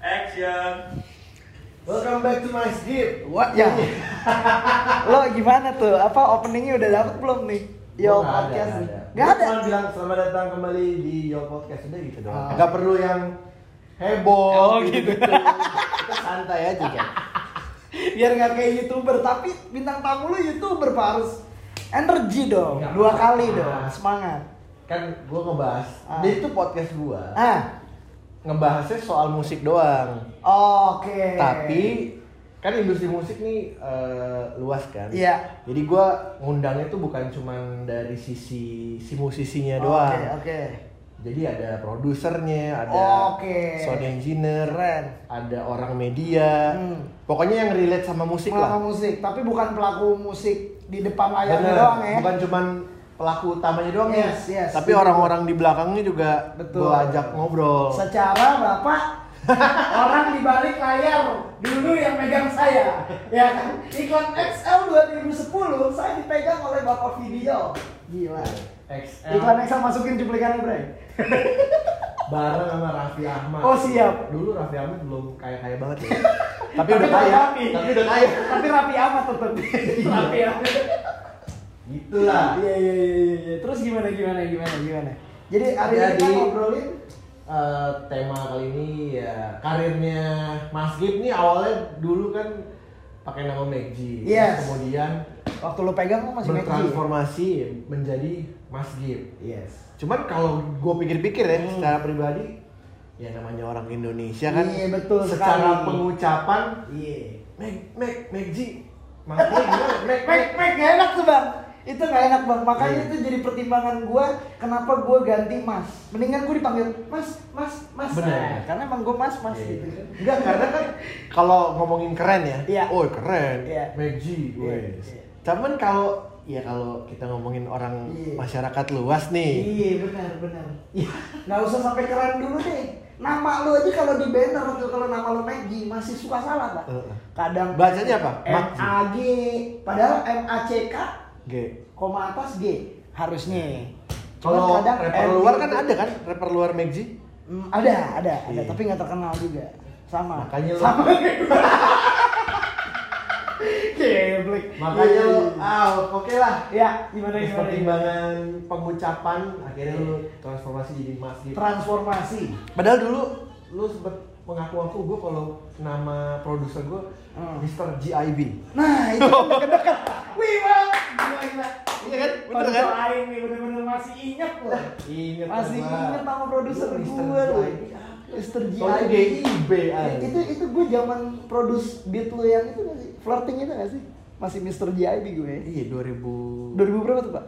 Action. Welcome back to my skip. What ya? Lo gimana tuh? Apa openingnya udah dapet belum nih? Yo podcast. Gak ada. Cuma bilang selamat datang kembali di Yo Podcast udah gitu doang. Oh. Gak perlu yang heboh. Oh, gitu. Kita santai aja kan. Biar nggak kayak YouTuber, tapi bintang tamu lo YouTuber Pak, harus energi dong. Nggak Dua apa-apa. kali dong, semangat. Kan gue ngebahas. Ah. Dia itu podcast gue. Ngebahasnya soal musik doang. Oke. Tapi kan industri musik nih luas kan. Iya. Jadi gue ngundangnya tuh bukan cuman dari sisi si musisinya doang. Oke. Jadi ada produsernya, ada Oke. sound engineer, Keren. ada orang media. Pokoknya yang relate sama musik Pelaku lah. musik, tapi bukan pelaku musik di depan layar Bener, doang ya. bukan cuman pelaku utamanya doang ya. Yes, Tapi betul. orang-orang di belakangnya juga Betul. gua ajak ngobrol. Secara Bapak orang di balik layar dulu yang megang saya, ya kan? Iklan XL 2010 saya dipegang oleh Bapak Video. Gila. XL Iklan XL masukin cuplikannya, Bre. bareng sama Raffi Ahmad. Oh, siap. Dulu Raffi Ahmad belum kaya-kaya banget ya. Tapi Tapi udah kaya. rapi. Tapi udah kaya. Tapi rapi amat tetap. Rapi amat. Gitulah. Iya. Terus gimana? Jadi hari ini Jadi, kita ngobrolin tema kali ini ya karirnya Mas Gip nih awalnya dulu kan pakai nama Megji. Yes. Kemudian waktu lo pegang kan masih Megji. bertransformasi menjadi Mas Gip. Yes. Cuman kalau gue pikir-pikir ya secara pribadi ya namanya orang Indonesia kan. Iya, betul secara sekali. pengucapan Iya. Megji. Makanya gimana? Mek gak enak tuh bang, itu gak enak bang, makanya Iya. itu jadi pertimbangan gue kenapa gue ganti mas. Mendingan gue dipanggil mas. Bener. Nah, karena emang gue mas gitu. Enggak, karena kan kalau ngomongin keren ya, Iya. oh keren, Iya. Megji, Iya. wes. Cuman kalau kita ngomongin orang Iya. masyarakat luas nih, Iya benar. Iya. Nggak usah sampai keren dulu deh. Nama lu aja kalau di banner tuh kalau nama lu Megji masih suka salah pak. Kadang bacanya apa? MAG, padahal MACK, G. koma atas G harusnya. Kalau Cuman kadang rapper M luar gitu. kan ada kan, rapper luar Megji. Ada, Iya. tapi nggak terkenal juga. Sama. Makanya lu- Sama. Geblek. Makanya Iya. lo, oke lah. Ya, gimana? Pertimbangan pengucapan akhirnya lu transformasi jadi Mas Gip. Transformasi. Padahal dulu lu sempet mengaku-ngaku gue kalau nama produser gue Mr. GIB. Nah, itu kan deket-deket. Wih, Bang. Gila. Iya kan? Bener kan? Lain nih, bener-bener masih ingat loh. Ingat Masih gua. ingat nama produser Lu gue Mr. loh. GIB. Mr. Soalnya GIB. GIB aja. Itu gue zaman produce beat lo yang itu nggak sih? Flirting itu nggak sih? Masih Mr. GIB gue. Iya 2012 2000 berapa tuh, Pak?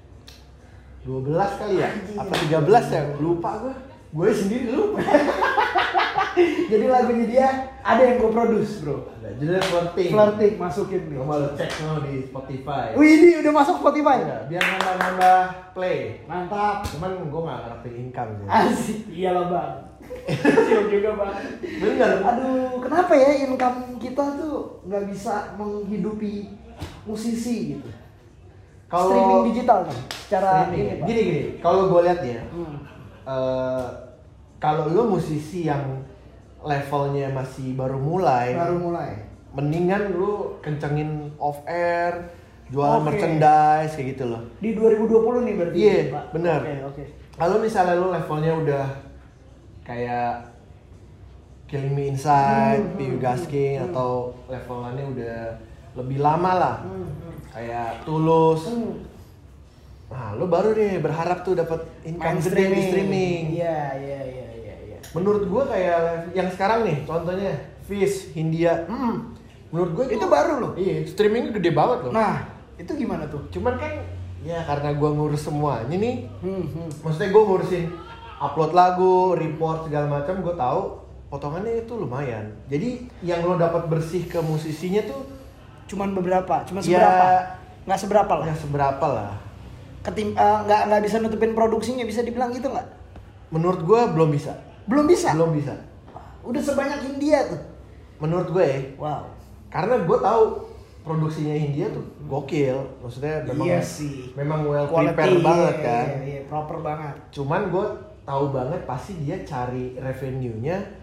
kali ya? Anjing. Apa 13 ya? Lupa gue. Gue sendiri lupa. Jadi lagunya dia ada yang gue produce, bro. Judulnya Flirting. Flirting masukin nih. Coba lo cek lo di Spotify. Wih, ini udah masuk Spotify. Iya, biar nambah-nambah play. Mantap. Cuman gue gak ngarepin income sih. Asik. Iyalah, Bang. Kecil juga, Bang. Bener. Aduh, kenapa ya income kita tuh nggak bisa menghidupi musisi gitu? Streaming digital kan? Secara Streaming. ini, Pak. Gini. Kalau gue lihat ya, Hmm. kalau lu musisi yang levelnya masih baru mulai, mendingan lu kencengin off air, jualan Oke. merchandise kayak gitu loh. Di 2020 nih berarti. Iya, Pak? benar. Oke. Kalau misalnya lu levelnya udah kayak Killing Me Inside, Piu Gasking atau levelannya udah lebih lama lah, kayak Tulus. Nah, lu baru nih berharap tuh dapat income Main gede di streaming. Iya. Menurut gua kayak yang sekarang nih, contohnya Fish, Hindia. Menurut gua Itu baru loh. Iya, streamingnya gede banget loh. Nah, itu gimana tuh? Cuman kan ya karena gua ngurus semuanya nih. Maksudnya gua ngurusin upload lagu, report segala macam, gua tahu potongannya itu lumayan. Jadi yang lo dapat bersih ke musisinya tuh Cuman beberapa, ya, seberapa? Nggak seberapa lah. nggak seberapa lah. Nggak bisa nutupin produksinya, bisa dibilang gitu nggak? Menurut gua belum bisa. Belum bisa. Udah sebanyak India tuh. Menurut gue ya. Wow. Karena gue tahu produksinya Hindia tuh gokil. Maksudnya memang Iya sih. memang well Quality, prepared banget kan. Iya, proper banget. Cuman gue tahu banget pasti dia cari revenue-nya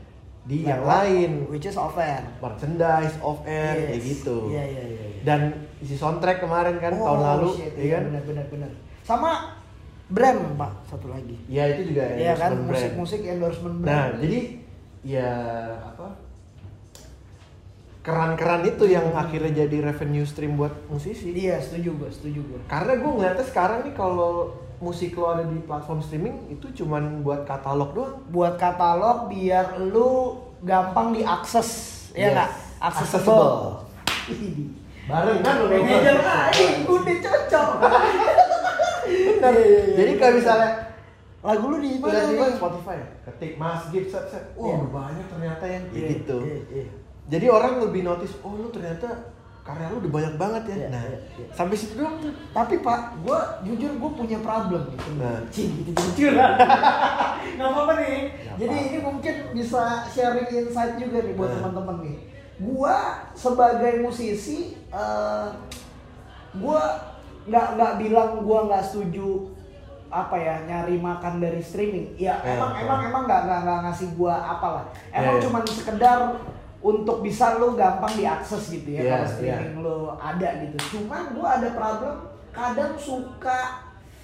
di yang lain, which is off air, merchandise, off air, kayak gitu. Iya. Dan isi soundtrack kemarin kan tahun lalu, iya kan? Benar. Sama brand Pak, satu lagi. Iya itu juga Iya kan, brand. musik endorsement brand. Nah jadi ya apa? Keran-keran itu yang akhirnya jadi revenue stream buat musisi. Iya, setuju gue. Karena gue ngeliatnya sekarang nih kalau musik lo ada di platform streaming itu cuman buat katalog doang. Buat katalog biar lu gampang diakses, ya nggak? Accessible. Bareng kan lo manajer udah cocok. Benar. Jadi kalau misalnya lagu lu di mana? Di Spotify. Ketik Masjid set. Udah banyak ternyata yang gitu. Jadi orang lebih notice, oh lu ternyata karya lu udah banyak banget ya. Sampai situ doang tuh. Tapi Pak, jujur gue punya problem gitu. Gitu jujuran. Nggak apa-apa nih. Jadi ini mungkin bisa sharing insight juga nih buat teman-teman nih. Gua sebagai musisi, gua nggak bilang gua nggak setuju nyari makan dari streaming. Ya emang nggak ngasih gua apalah. Emang cuman sekedar untuk bisa lo gampang diakses gitu ya kalau streaming lo ada gitu. Cuman gua ada problem kadang suka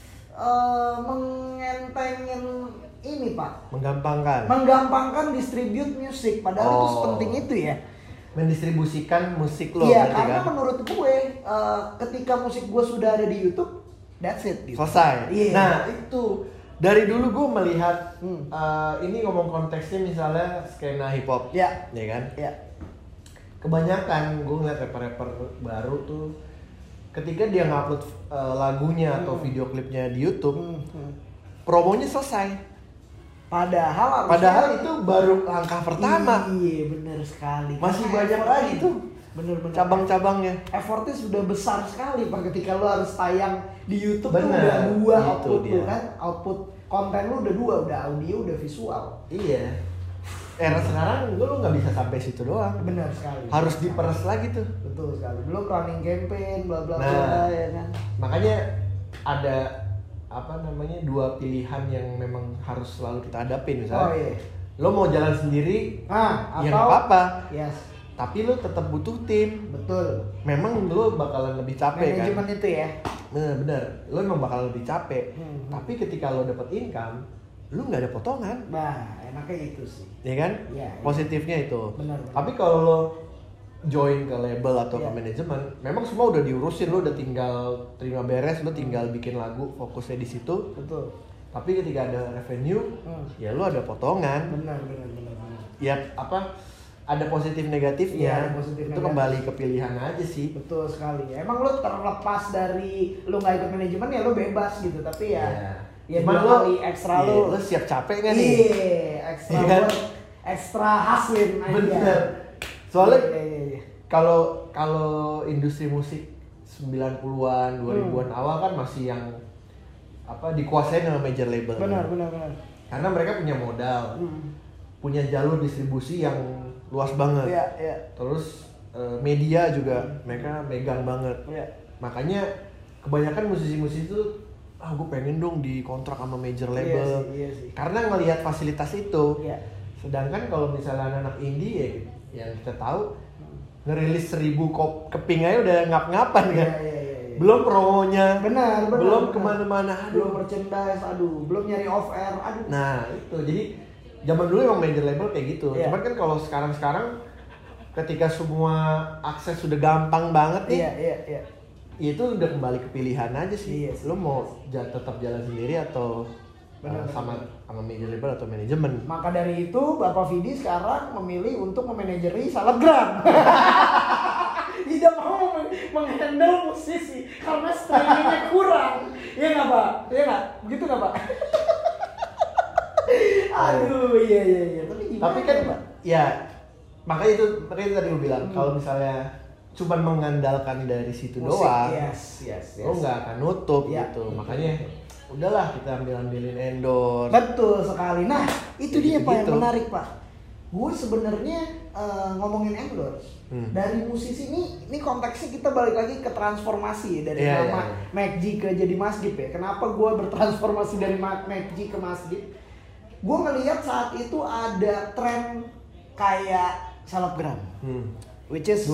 mengentengin ini Pak. Menggampangkan distribute musik padahal itu sepenting itu ya. Mendistribusikan musik lo. Iya karena kan? Menurut gue ketika musik gue sudah ada di YouTube, that's it. Gitu. Selesai. Nah itu. Dari dulu gue melihat ini ngomong konteksnya misalnya skena hip hop, ya kan? Iya. Kebanyakan gue ngeliat rapper-rapper baru tuh, ketika dia ngupload lagunya atau video klipnya di YouTube, promonya selesai. Padahal itu baru langkah pertama. Iya benar sekali. Masih banyak lagi tuh. Bener cabang-cabangnya. Effortnya sudah besar sekali Pak ketika lo harus tayang di YouTube tuh udah dua output lo kan, output konten lo udah dua, udah audio, udah visual. Iya. Era sekarang lo nggak bisa sampai situ doang. Benar sekali. Harus diperes lagi tuh. Betul sekali. Belum running campaign, bla bla bla ya kan. Makanya ada dua pilihan yang memang harus selalu kita hadapin misalnya. Lo mau jalan sendiri, ya nggak apa-apa. Yes. Tapi lo tetap butuh tim. Betul. Memang lo bakalan lebih capek manajemen itu ya. Bener. Lo memang bakalan lebih capek. Tapi ketika lo dapet income, lo nggak ada potongan. Nah, enaknya itu sih. Ya kan? Iya. Positifnya itu. Benar. Tapi kalau lo join ke label atau ke manajemen, memang semua udah diurusin. Lo udah tinggal terima beres. Lo tinggal bikin lagu, fokusnya di situ. Betul. Tapi ketika ada revenue, ya lo ada potongan. Benar. Ya ada positif negatifnya, itu kembali ke pilihan aja sih. Betul sekali. Emang lo terlepas dari lo nggak ikut manajemen ya lo bebas gitu, tapi ya cuma lo ekstra lo siap capek nggak nih? Iya, ekstra hasilin aja. Bener. Soalnya kalau industri musik 90-an, 2000-an awal kan masih yang dikuasain sama major label. Benar. Karena mereka punya modal, punya jalur distribusi yang luas banget. Iya. Terus media juga mereka megang banget. Iya. Makanya kebanyakan musisi-musisi itu gue pengen dong dikontrak sama major label. Iya sih. Karena ngelihat fasilitas itu. Iya. Sedangkan kalau misalnya anak indie ya yang kita tahu ngerilis 1000 keping aja udah ngap-ngapan kan. Iya. Belum promonya. Benar. Belum kemana-mana. Belum merchandise, belum nyari off air, Nah itu jadi zaman dulu emang major label kayak gitu. Cuman kan kalau sekarang ketika semua akses sudah gampang banget nih. Iya. Itu udah kembali ke pilihan aja sih. Iya. Lo mau tetap jalan sendiri atau sama major label atau manajemen. Maka dari itu Bapak Vidi sekarang memilih untuk memanajeri selebgram. Tidak mau menghandle musisi karena streamingnya kurang. Iya nggak Pak? Iya nggak? Begitu nggak Pak? Aduh, iya. Tapi kan Pak, makanya itu tadi gue bilang kalau misalnya cuma mengandalkan dari situ musik doang, yes. lo nggak akan nutup gitu. Makanya udahlah kita ambilin endorse. Betul sekali. Nah, itu dia Pak yang menarik Pak. Gue sebenarnya ngomongin endorse dari musisi ini konteksnya kita balik lagi ke transformasi dari nama MacG ke jadi Masjid ya. Kenapa gue bertransformasi dari MacG ke Masjid? Gue ngelihat saat itu ada tren kayak selebgram. Which is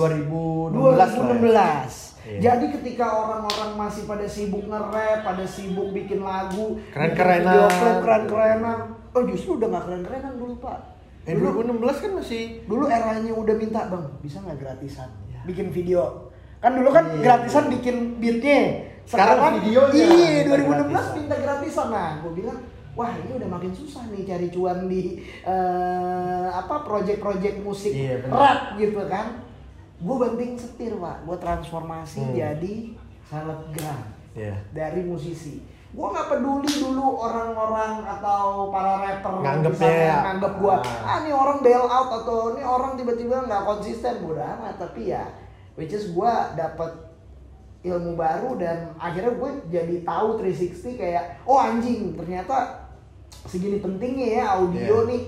2016. Iya. Jadi ketika orang-orang masih pada sibuk nge-rap, pada sibuk bikin lagu, keren-kerenan, video klip keren-kerenan. Oh justru udah gak keren-kerenan dulu Pak. 2016 kan masih. Dulu eranya udah minta bang, bisa nggak gratisan bikin video. Kan dulu kan gratisan bikin beatnya. Sekarang videonya. Iya 2016 minta gratisan. Nah gue bilang, wah ini udah makin susah nih cari cuan di project-project musik rap gitu kan. Gue banting setir Pak, gue transformasi jadi selebgram dari musisi. Gue nggak peduli dulu orang-orang atau para rapper nganggep gue, ini orang bail out atau ini orang tiba-tiba nggak konsisten, bodo amat. Tapi ya, which is gue dapet ilmu baru dan akhirnya gue jadi tahu 360 kayak, oh anjing ternyata segini pentingnya ya audio nih,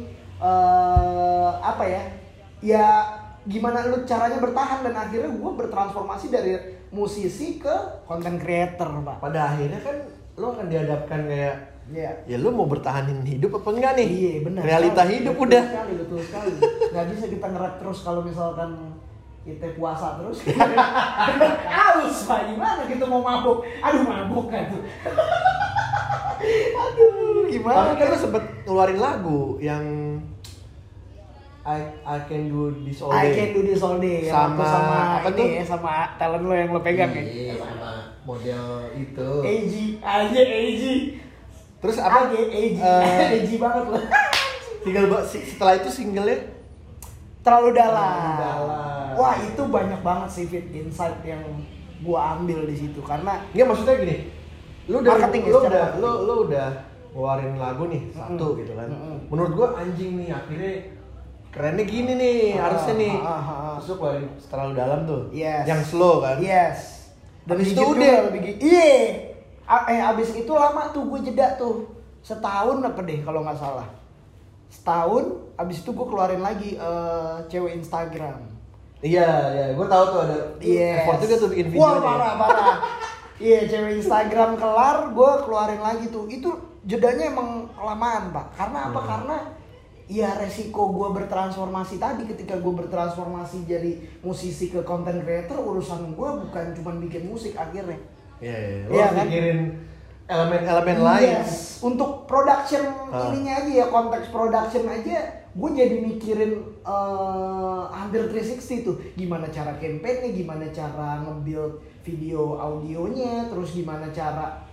ya gimana lu caranya bertahan, dan akhirnya gue bertransformasi dari musisi ke content creator Pak. Pada akhirnya kan lu akan dihadapkan kayak ya lu mau bertahanin hidup apa enggak nih? Iya benar. Realita hidup udah. Betul sekali. Gak bisa kita nge-rap terus kalau misalkan kita puasa terus. Aus Pak, gimana kita mau mabuk? Aduh mabuk kan tuh. Aduh gimana? Tapi kan lu sempet ngeluarin lagu yang I can do this all day. I can do this all day. Sama apa ini tuh? Ya, sama talent lo yang lo pegang ya. Iya, sama model itu. AG. Terus apa? AG banget lo. Setelah itu singlenya Terlalu dalam. Wah itu banyak banget sih insight yang gua ambil di situ karena. Nggak, maksudnya gini. Lu udah ngeluarin lagu nih satu gitu kan. Menurut gua anjing nih akhirnya kerennya gini nih, harusnya nih. Terus lu keluarin terlalu dalam tuh. Yes. Yang slow kan? Yes. Dan Abis itu udah abis itu lama tuh gue jeda tuh. Setahun apa deh kalau nggak salah. Setahun, abis itu gue keluarin lagi cewek Instagram. Iya, gue tahu tuh ada effort juga tuh bikin video. Wah, parah. Iya, cewek Instagram kelar, gue keluarin lagi tuh. Itu jedanya emang kelamaan, Pak. Karena apa? Karena ya resiko gue bertransformasi tadi, ketika gue bertransformasi jadi musisi ke content creator, urusan gue bukan cuma bikin musik akhirnya. Iya, lo harus mikirin elemen-elemen lain. Yes, untuk production ininya aja ya, konteks production aja, gue jadi mikirin hampir 360 tuh. Gimana cara campaign-nya, gimana cara nge-build video audionya, terus gimana cara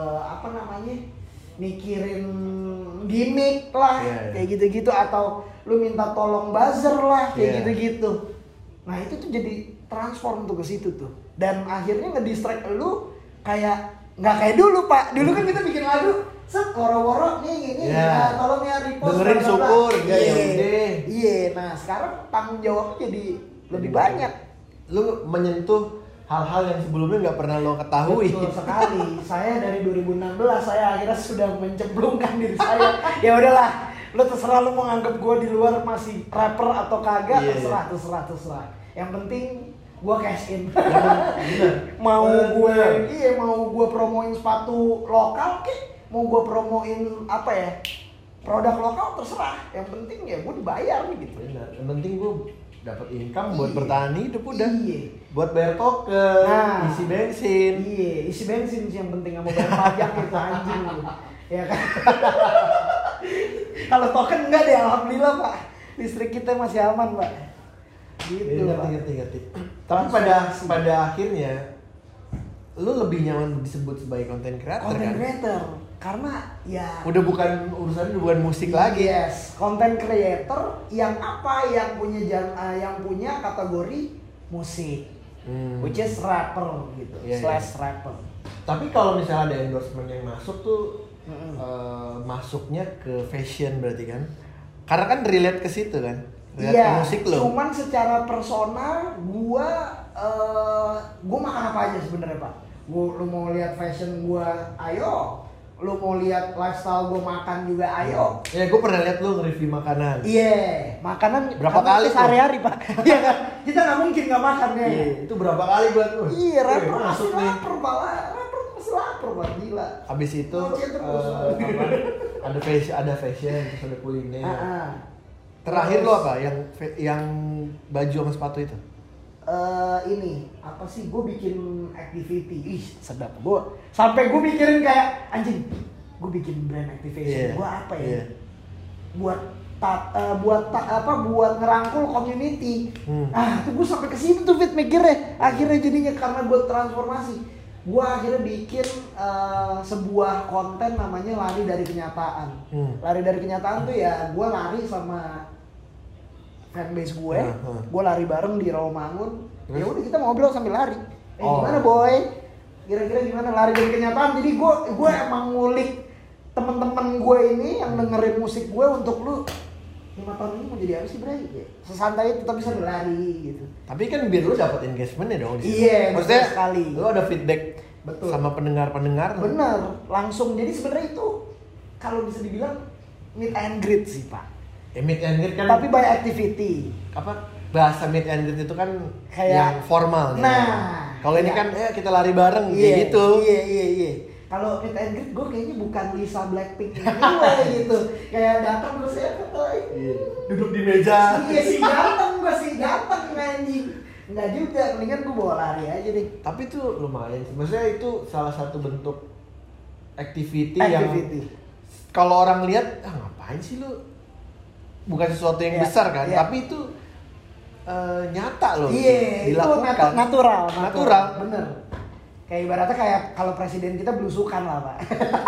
mikirin gimmick lah, kayak gitu-gitu, atau lu minta tolong buzzer lah, kayak gitu-gitu. Nah itu tuh jadi transform tuh ke situ tuh, dan akhirnya ngedistract lu kayak nggak kayak dulu Pak. Dulu kan kita bikin lagu, woro-woro nih ini, tolong ya repost. Dengerin syukur, iya. Nah sekarang tanggung jawabnya jadi lebih banyak. Lu menyentuh hal-hal yang sebelumnya nggak pernah lo ketahui. Betul sekali. Saya dari 2016 saya akhirnya sudah mencemplungkan diri saya. Ya udahlah, lo terserah lo mau nganggap gue di luar masih rapper atau kagak, terserah. Yang penting gue cash in. mau gue promoin sepatu lokal mau gue promoin produk lokal, terserah. Yang penting ya gue dibayar gitu. Benar. Yang penting gue dapat income buat bertahan hidup udah. Buat bayar token, isi bensin. Isi bensin sih yang penting, sama bayar pajak itu anjing. Ya kan. Kalau token enggak deh, alhamdulillah Pak. Listrik kita masih aman Pak. Gitu. Ngerti. Tapi pada akhirnya lu lebih nyaman disebut sebagai content creator kan? Karena ya udah bukan musik lagi. Yes, content creator yang punya kategori musik, which is rapper gitu, /rapper. Tapi kalau misalnya ada endorsement yang masuk tuh, masuknya ke fashion berarti kan? Karena kan relate ke situ kan? Relate ke musik lo. Cuman secara personal, gua makan apa aja sebenarnya Pak. Lu mau lihat fashion gua, ayo. Lu mau lihat lifestyle gue makan juga, ayo. Ya, gue pernah lihat lu nge-review makanan. Makanan berapa kali sehari-hari Pak. Iya kan? Kita nggak mungkin nggak makan ya. Itu berapa kali buat lu? Iya, rapper masih lapar Pak. Rapper masih lapar Pak, gila. Habis itu ada fashion, terus ada kuliner. Terakhir lo apa? Yang baju sama sepatu itu? Ini apa sih, gue bikin activity, sedap. Gue sampai gue mikirin kayak anjing, gue bikin brand activation, gue apa ya? Buat ngerangkul community. Tuh gue sampai ke situ tuh mikirnya. Akhirnya jadinya karena gue transformasi, gue akhirnya bikin sebuah konten namanya lari dari kenyataan. Lari dari kenyataan tuh ya gue lari sama fanbase gue, gue lari bareng di Rawamangun. Ya udah kita ngobrol sambil lari. Gimana boy? Kira-kira gimana lari dari kenyataan? Jadi gue emang ngulik temen-temen gue ini yang dengerin musik gue untuk lu 5 tahun ini mau jadi apa sih Bray? Sesantai itu tapi sambil lari gitu. Tapi kan biar lu dapat engagement ya dong. Iya, maksudnya sekali. Lu ada feedback sama pendengar-pendengar. Bener, langsung. Jadi sebenarnya itu kalau bisa dibilang meet and greet sih Pak. Meet and greet kan. Tapi by activity. Apa bahasa meet and greet itu kan kayak yang formal. Nah, kalau ini kan kita lari bareng kayak gitu. Iya. Kalau meet and greet gue kayaknya bukan Lisa Blackpink ini gitu. Kayak datang terus ya duduk di meja. Iya sih ganteng anjing. Enggak juga, mendingan gue bawa lari aja deh. Tapi itu lumayan sih. Maksudnya itu salah satu bentuk activity. Yang kalau orang lihat, ngapain sih lu? Bukan sesuatu yang besar kan, tapi itu nyata loh. Iya, dilakukan. Itu natural. Bener. Kayak ibaratnya kayak kalau presiden kita belusukan lah Pak.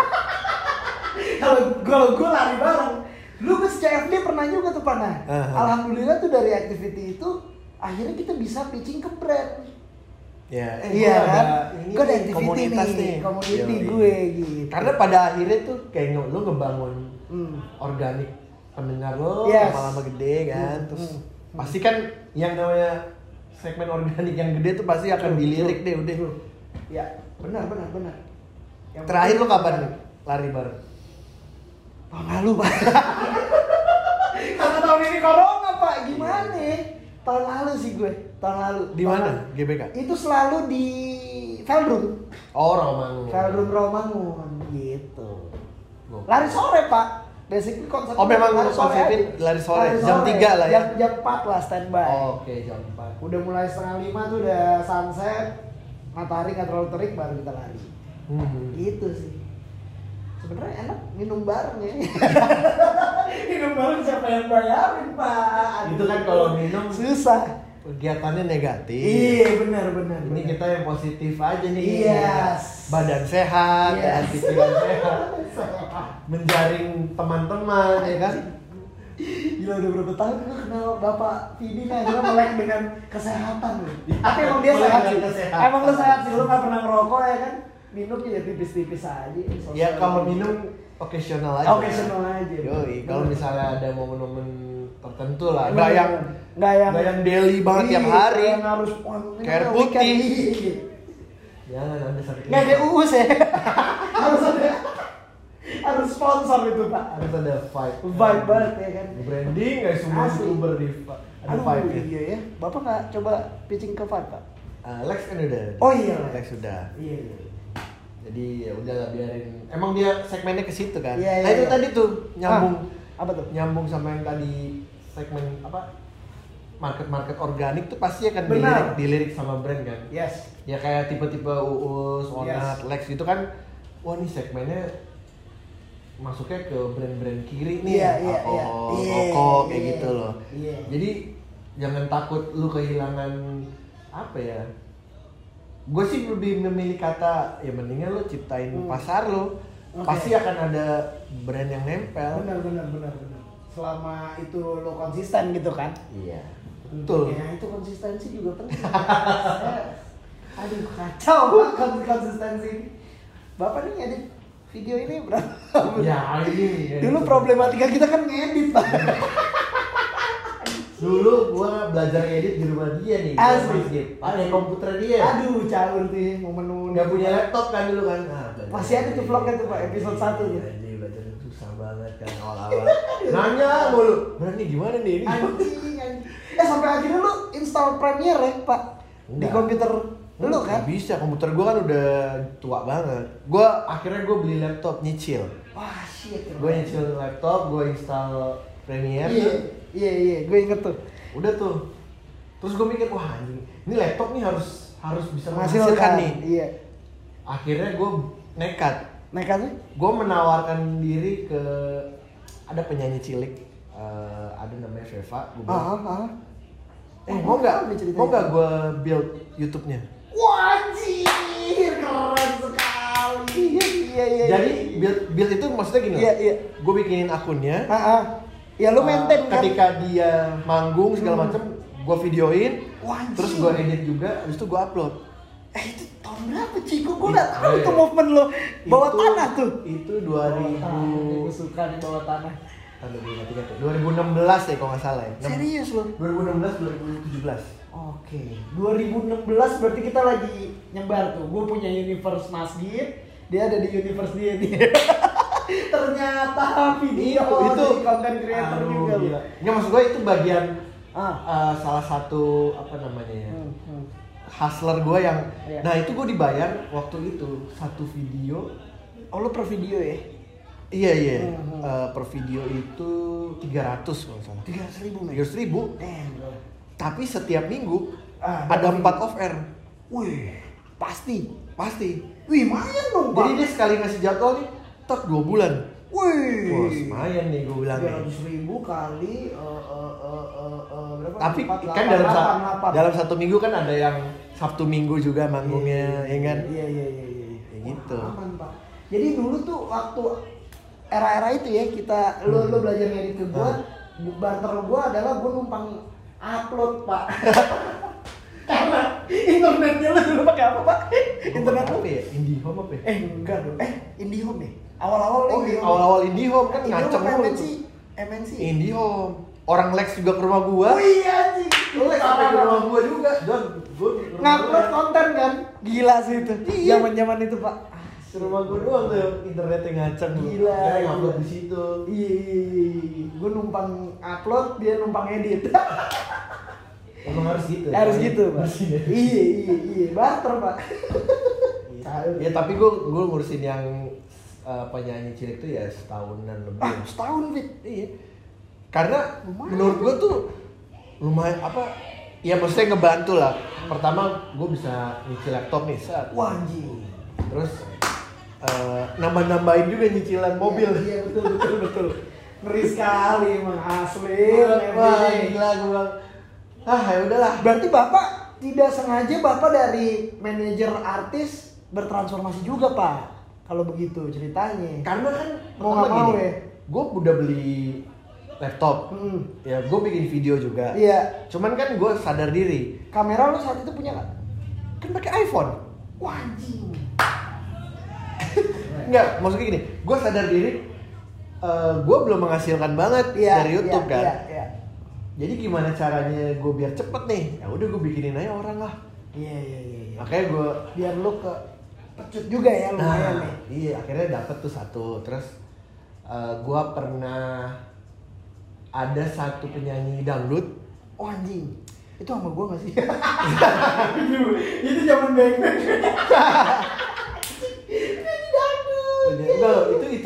Kalau gue lari bareng, lu ke CFD pernah juga tuh Pak. Alhamdulillah tuh dari activity itu akhirnya kita bisa pitching ke brand. Iya kan? Gue ada activity nih, community gue gitu. Karena pada akhirnya tuh kayak lu ngebangun organik pendengar lo lama-lama gede kan, terus pasti kan yang namanya segmen organik yang gede tuh pasti akan dilirik deh udah. Ya benar. Yang terakhir lo kapan lari bareng? Tahun lalu Pak. Karena tahun ini corona Pak, gimana? Tahun lalu sih gue, tahun lalu. Di mana? GBK? Itu selalu di Veldrum. Oh Rawamangun. Veldrum Rawamangun gitu. Lari sore Pak. Basically konsep memang lari sore. Jam 3 lah ya? Jam 4 lah standby. Oke, jam 4. Udah mulai 4:30 tuh udah sunset, matahari nggak terlalu terik baru kita lari. Gitu sih. Sebenarnya enak minum bareng ya. Minum bareng siapa yang bayarin Pak? Itu kan kalau minum susah. Kegiatannya negatif. Iya benar. Ini kita yang positif aja nih. Yes. Badan sehat, pikiran sehat. Menjaring teman-teman ya kan. Gila udah berapa tahun gue kenal Bapak Vidi nih, akhirnya melek dengan kesehatan loh. Tapi emang dia sehat sih. Emang lu sehat sih, lu gak pernah ngerokok ya kan? Minumnya ya tipis-tipis aja. Ya kalau minum occasional aja. Yoi, kalau misalnya ada momen-momen tertentu lah. Gak yang daily banget tiap hari. Yang harus kayak putih. Jangan ada sakit. Nggak ada uus ya. harus sponsor itu Pak. Harus ada vibe banget ya kan. Branding nggak semua youtuber di ada vibe. Iya ya. Bapak nggak coba pitching ke vibe Pak? Lex kan udah. Oh iya. Lex sudah. Iya. Jadi ya udah biarin. Emang dia segmennya ke situ kan. Iya, itu tadi tuh nyambung. Apa tuh? Nyambung sama yang tadi segmen apa? Market organik tuh pasti akan dilirik sama brand kan. Yes. Ya kayak tipe-tipe Uus, Onat, Lex gitu kan. Wah nih segmennya masuknya ke brand-brand kiri nih, rokok kayak gitu loh. Jadi jangan takut lu kehilangan apa ya. Gue sih lebih memilih kata ya mendingan lu ciptain pasar lu. Pasti akan ada brand yang nempel. Benar. Selama itu lo konsisten gitu kan? Iya. Betul. Ya itu konsistensi juga penting. Aduh kacau banget konsistensi ini. Bapak nih edit video ini berapa? Ya ini. Dulu problematika kita kan ngedit Pak. Dulu gua belajar edit di rumah dia nih. Asli. Pakai komputer dia. Aduh caur tuh momen-momen. Gak punya laptop kan dulu kan? Masih ada tuh vlognya tuh Pak episode 1 gitu. Anjing belajar susah banget kan awal-awal. Nanya mulu. Berani gimana nih ini? Anjing. Sampai akhirnya lu install Premiere ya Pak? Di komputer lu kan? Bisa, komputer gua kan udah tua banget. Akhirnya gua beli laptop nyicil. Wah shit. Gua nyicil laptop, gua install Premiere. Iya, gue inget tuh. Udah tuh. Terus gue mikir, wah anjing, ini laptop nih harus bisa Menghasilkan menghasilkan nih. Iya. Akhirnya gue nekat. Nekatnya? Gue menawarkan diri ke ada penyanyi cilik, ada namanya Veva. Gue bilang, mau nggak gue build YouTube-nya? Wah anjir, keren sekali. Iya. Jadi build itu maksudnya gini. Iya. Gue bikinin akunnya. Ya lu maintain kan? Ketika dia manggung segala macam, gue videoin. Wah, anjir. Terus gue edit juga, habis itu gue upload. Itu tahun berapa Ciko? Gue nggak tahu tuh movement lo bawah tanah tuh. Itu 2000. Gue suka nih bawah tanah. 2016 ya kalau nggak salah ya. Serius lo? 2016 2017. Oke, 2016 berarti kita lagi nyebar tuh. Gue punya universe masjid, dia ada di universe dia nih. Ternyata video itu konten creator juga. Gila. Nggak, maksud gue itu bagian salah satu apa namanya ya, hustler gue yang, nah itu gue dibayar waktu itu satu video. Oh lu per video ya? Iya. Per video itu 300 kalau nggak salah. 300.000. Tapi setiap minggu ada 4 off air. Wih, pasti. Wih, lumayan dong, Pak. Jadi dia sekali ngasih jadwal nih, tak 2 bulan. Wih, wah lumayan nih gue bilang. 300.000 kali berapa? Tapi 4, kan 8. dalam satu minggu kan ada yang Sabtu Minggu juga manggungnya, ya kan? Iya. Ya gitu. Aman, Pak. Jadi dulu tuh waktu era-era itu ya kita lu belajar ngedit ke gua, barter gua adalah gua numpang upload, Pak. Karena internetnya lu dulu pakai apa, Pak? Internet apa ya? IndiHome apa ya? Enggak dong. IndiHome deh. Awal-awal awal-awal IndiHome kan ngaceng mulu. MNC. IndiHome. Orang Lex juga ke rumah gua. Oh iya anjing. Lex sampai ke rumah gua juga. Don, gua ngupload konten kan? Gila sih itu. Iya. Zaman-zaman itu, Pak. Ke rumah gua doang tuh internetnya ngaceng. Gila. Dia ngupload di situ. Iya. Gua numpang upload, dia numpang edit. Emang harus gitu. Harus gitu, Pak. Iya. Barter, Pak. Ya tapi gue ngurusin yang penyanyi cilik tuh ya setahunan lebih. Setahun, Fit. Iya. Karena menurut gue tuh lumayan apa? Ya maksudnya ngebantu lah. Pertama gue bisa nyicil laptop nih, set. Wah, anjing. Terus nambah-nambahin juga nyicilan mobil. Iya, betul. Ngeri sekali emang asli. Wah, gila gue bilang. Ya udahlah. Berarti Bapak tidak sengaja Bapak dari manajer artis bertransformasi juga, Pak. Kalau begitu ceritanya. Karena kan mau nggak mau ya. Gue udah beli laptop. Ya gue bikin video juga. Iya. Cuman kan gue sadar diri. Kamera lu saat itu punya nggak? Kan pakai iPhone. Wah, anjing. Enggak, maksudnya gini. Gue sadar diri. Gue belum menghasilkan banget dari YouTube kan. Iya. Jadi gimana caranya gue biar cepet nih? Ya udah gue bikinin aja orang lah. Iya. Makanya gue biar lu ke pecut juga ya lumayan nih. Iya, akhirnya dapet tuh satu. Terus gue pernah ada satu penyanyi dangdut. Oh anjing, itu sama gue gak sih? Itu zaman beng-beng. Penyanyi dangdut. Enggak, itu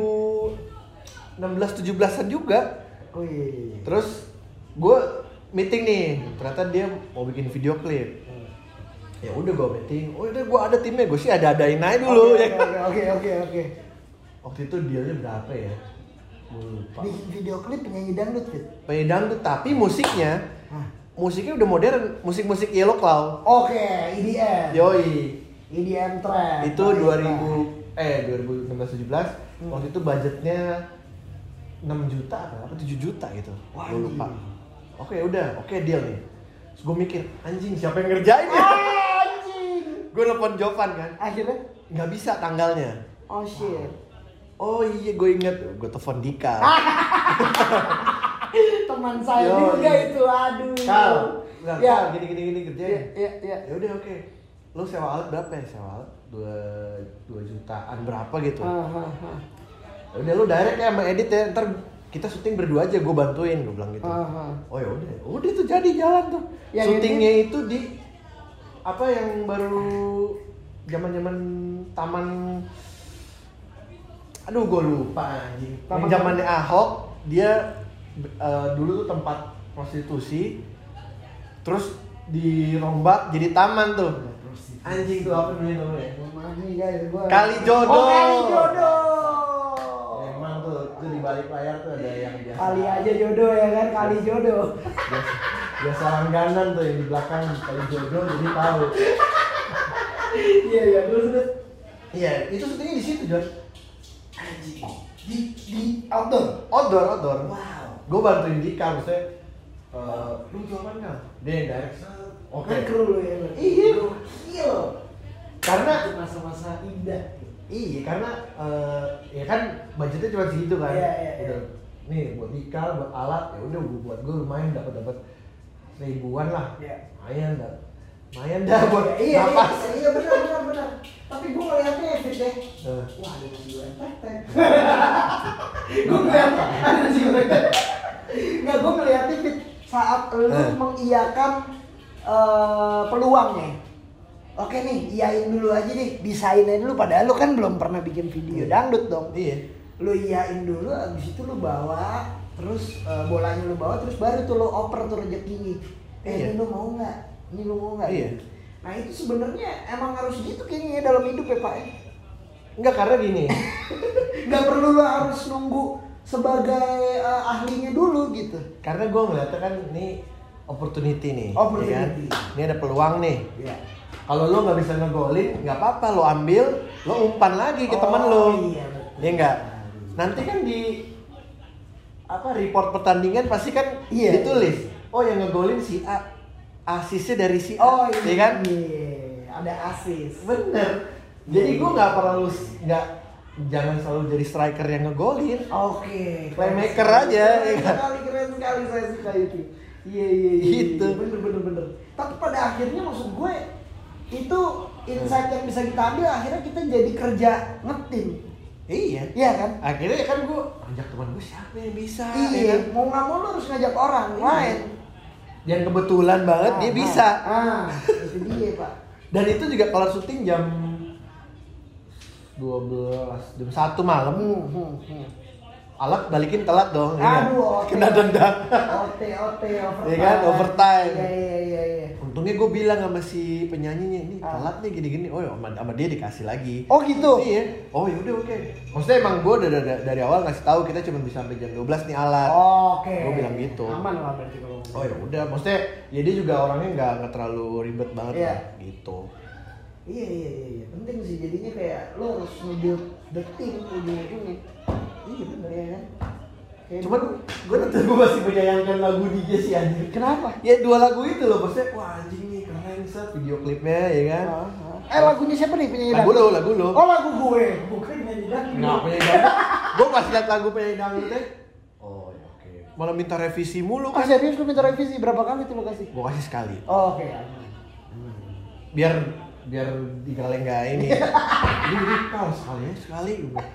2016-17an juga. Oh iya. Terus gue meeting nih, ternyata dia mau bikin video klip. Ya udah gue meeting, oh udah gue ada timnya, gue sih ada-adain aja dulu. Oke. Waktu itu dealnya berapa ya? Lupa. Bikin video klip penyanyi dangdut, Fit. Penyanyi dangdut, tapi musiknya udah modern, musik-musik Yellow Claw. Oke, EDM. Yoi. EDM trend. Itu 2016-17, waktu itu budgetnya 6 juta apa 7 juta gitu. Wah, gue lupa. Oke deal nih. Terus gue mikir, anjing siapa yang ngerjain ya? Anjing. Gue nelfon Jovan kan. Akhirnya nggak bisa tanggalnya. Oh shit. Oh iya gue inget, gue telepon Dika. Teman saya juga itu, aduh. Kal, gini kerjain. Iya. Ya udah oke. Lu sewa alat berapa ya? Sewa alat 2 jutaan berapa gitu. Ya udah lu direct ya sama edit ya, ntar kita syuting berdua aja, gue bantuin, gue bilang gitu. Oh ya udah tuh jadi jalan tuh. Yang syutingnya itu di apa yang baru zaman taman, aduh gue lupa anjing. Yang zamannya Ahok dia dulu tuh tempat prostitusi, terus dirombak jadi taman tuh. Anjing tuh apa namanya? Kali Jodoh. Oh, Kali Jodoh. Emang tuh di balik layar tuh ada yang biasa. Kali aja jodoh ya kan, Kali Jodoh. Biasa langganan tuh yang di belakang Kali Jodoh jadi tahu. Iya terus. Iya, itu syutingnya di situ, Jon. Anjing. Di outdoor. Outdoor. Wow. Gue bantuin Dika, maksudnya lu jawaban nggak? Dia yang direct. Oke. Kru lu ya. Iya. Iya. Karena itu masa-masa indah. iya, karena ya kan budgetnya cuma segitu kan. Iya. Udah nih buat Dika, buat alat, ya udah buat gue lumayan dapat ribuan lah. Iya. Lumayan dah buat napas. Iya benar. Tapi gue ngeliatnya Fit deh. Wah, ada nasi goreng tek. Gue ngeliatnya ada nasi goreng tek. Nggak, gue ngeliatnya Fit saat lu mengiyakan peluangnya. Oke nih, iyain dulu aja deh, desainnya dulu. Padahal lu kan belum pernah bikin video dangdut dong. Iya. Lu iyain dulu, abis itu lu bawa, terus bolanya lu bawa, terus baru tuh lu oper tuh rezekinya. Ini lu mau nggak? Ini lu mau nggak? Iya. Nah itu sebenarnya emang harus gitu kayaknya ya dalam hidup ya Pak. Enggak, karena gini. Nggak perlu lu harus nunggu sebagai ahlinya dulu gitu. Karena gue ngeliatnya kan ini opportunity nih. Opportunity. Ya kan? Ini ada peluang nih. Iya. Kalau lo nggak bisa ngegolin, nggak apa-apa, lo ambil, lo umpan lagi ke teman lo. Iya betul. Ya enggak. Nanti kan di report pertandingan pasti kan ditulis. Oh yang ngegolin si A, asisnya dari si A. Oh iya. Ya kan? Iya. Ada asis. Bener. Jadi gue nggak perlu jangan selalu jadi striker yang ngegolin. Oke. Playmaker aja. Keren sekali saya suka itu. Iya. Gitu. Bener. Tapi pada akhirnya maksud gue itu insight yang bisa kita ambil, akhirnya kita jadi kerja ngetim. Iya. Iya kan? Akhirnya kan gue ajak teman gue siapa yang bisa. Iya. Ya kan? Mau nggak mau lo harus ngajak orang lain. Yang kebetulan banget dia bisa. Itu dia Pak. Dan itu juga kalau syuting jam 12, jam 1 malam. Alat balikin telat dong. Aduh, kena dendam. OT overtime. Iya kan, overtime. Iya. Untungnya gue bilang sama si penyanyinya, ini telat nih gini-gini. Oh ya, sama dia dikasih lagi. Oh gitu. Iya. Oh yaudah oke. Maksudnya emang gue udah dari awal ngasih tahu kita cuma bisa sampai jam 12 nih alat. Oke. Gue bilang gitu. Aman lah berarti kalau. Oh ya udah, maksudnya ya dia juga orangnya nggak terlalu ribet banget lah, gitu. Iya. Penting sih, jadinya kayak lo harus nge-build the team ujung-ujungnya. Iya bener ya kan. Cuman gue tetep masih menyayangkan lagu DJ sih anjir. Kenapa? Ya 2 lagu itu loh, maksudnya wah anjing nih keren set video klipnya ya kan. Lagunya siapa nih penyanyi dangdut? dangdut? Lagu lo. Oh lagu gue, bukan penyanyi dangdut. Nggak penyanyi dangdut. Gue pas liat lagu penyanyi dangdut teh. Oh ya oke. Malah minta revisi mulu kan. Serius lu minta revisi berapa kali tuh lo kasih? Gue kasih sekali. Oh, oke. Biar digaleng nggak ini. Ini sekali.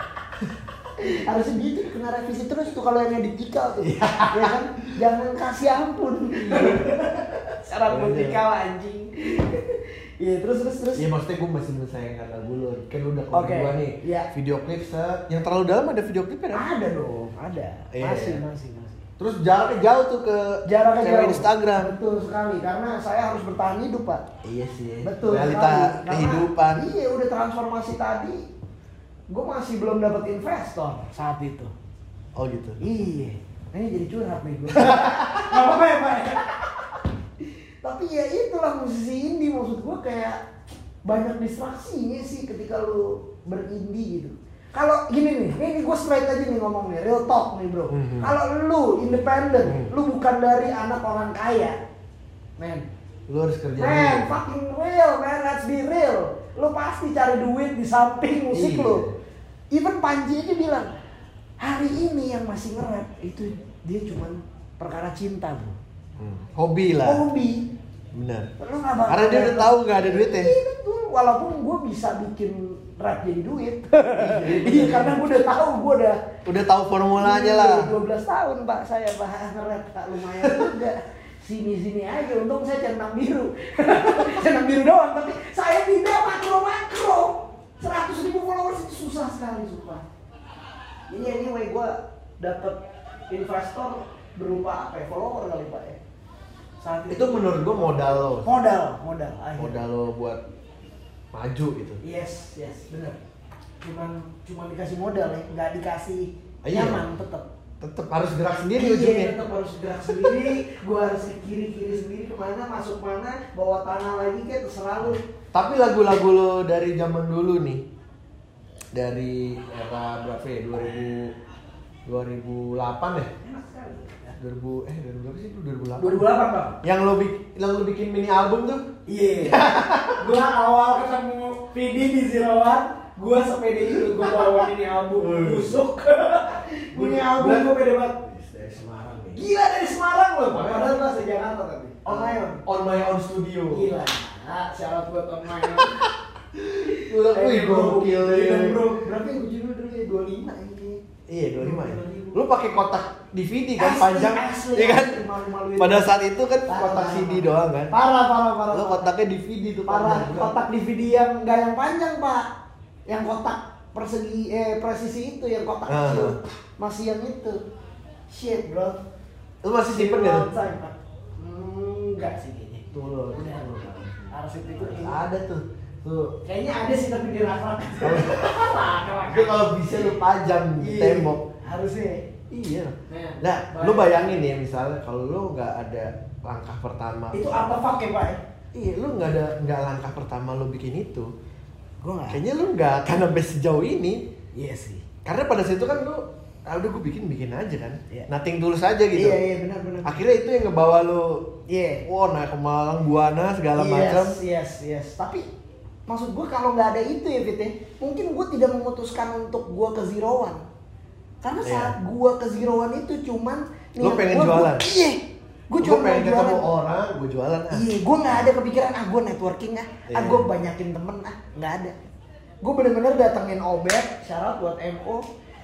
Harusnya gitu, kena revisi terus tuh kalau yang edit Dika tuh. Ya kan? Jangan kasih ampun. Syarat vertikal anjing. Iya, terus. Iya, maksudnya gue masih menyayangkan lagu lo. Kan lu udah kedua nih. Iya. Video klip set. Yang terlalu dalam ada video klipnya kan? Ada dong, ada. Masih. Terus jaraknya jauh tuh ke jauh. Instagram. Betul sekali, karena saya harus bertahan hidup, Pak. Iya sih. Betul. Realita sekali. kehidupan. Iya, udah transformasi tadi. Gue masih belum dapat investor saat itu. Oh gitu. Iya. Ini jadi curhat nih gue. Gak apa-apa ya Pak. Tapi ya itulah musisi indie, maksud gue kayak banyak distraksinya sih ketika lu berindie gitu. Kalau gini nih, ini gue straight aja nih ngomong nih, real talk nih bro. Kalau lu independen, lu bukan dari anak orang kaya, men. Lu harus kerja. Man, fucking real, man. Let's be real. Lu pasti cari duit di samping musik lu. Even Panji aja bilang, hari ini yang masih nge-rap itu dia cuman perkara cinta, bro. Hobi lah. Hobi. Benar. Lu nggak bakal. Karena dia udah tahu nggak ada duitnya. Iya betul. Walaupun gue bisa bikin rap jadi duit. Iya karena gue udah tahu, udah tahu formulanya lah. 12 tahun Pak saya nge-rap, Pak, lumayan juga. Sini aja, untung saya centang biru. Centang biru doang, tapi saya tidak makro. 100.000 followers itu susah sekali, sumpah. Ini anyway gue dapet investor berupa apa ya? Follower kali Pak ya. Saat Itu menurut gua modal lo. modal akhirnya. Modal lo buat maju gitu. Yes, benar. Cuman dikasih modal ya, nggak dikasih Iya. nyaman tetap. Tetap harus gerak sendiri Iya, ujungnya. tetap harus gerak sendiri. Gua harus ke kiri sendiri kemana, masuk mana, bawa tanah lagi kayak terserah lu. Tapi lagu-lagu lo dari zaman dulu nih, dari era berapa ya? 2008 ya? Enak sekali. 2000 berapa sih? 2008. 2008 Bang. Yang lo bikin mini album tuh? Iya. Gua awal ketemu Vidi di Zirawan, gua sepede itu gua bawa ini album busuk. Ini album gua pede banget. Dari Semarang nih. Gila dari Semarang loh, padahal gua asli Jakarta tapi. On my own studio. Gila. Syarat buat on my own. Udah wih gokil ya. Bro, berapa yang judul dulu ya? 25 ini. Iya 25 ya. Lu pakai kotak DVD kan Asli, panjang, asli, iya kan? asli, malu-maluin. Pada saat itu kan Parah, kotak parah, CD parah. doang kan. Parah. Lu kotaknya DVD tuh Parah, panjang. kotak DVD yang enggak yang panjang, Pak. Yang kotak persegi presisi itu yang kotak kecil. Masih yang itu. Shit, bro. Lu masih simpen gak? Enggak sih kayaknya. Tuh lo. Arsip itu Ada tuh. Tuh. kayaknya ada sih tapi di rak-rak. Itu kalau bisa lu pajang di tembok. Harusnya. Iya. Nah, Nah, lu bayangin ya misalnya kalau lu nggak ada langkah pertama. Itu artefak ya, Pak ya? Iya, lu nggak langkah pertama lu bikin itu. Gua enggak. Kayaknya lu nggak akan sampai sejauh ini. Iya sih. Karena pada situ kan lu, udah gue bikin aja kan. Iya. Nothing tulus aja gitu. Iya, benar. Akhirnya itu yang ngebawa lu, Iya. wah naik ke Malang, Buana segala macam. Yes. Tapi maksud gue kalau nggak ada itu ya Fit ya, mungkin gue tidak memutuskan untuk gue ke Zero One. Karena saat gue ke Zero One itu cuman Lu pengen jualan? Iya. Gue Gue cuma pengen mau jualan. ketemu orang, gue jualan ah. Iya, gue nggak ada kepikiran gue networking Iya. gue banyakin temen nggak ada. Gue bener-bener datengin Obet, syarat buat MO.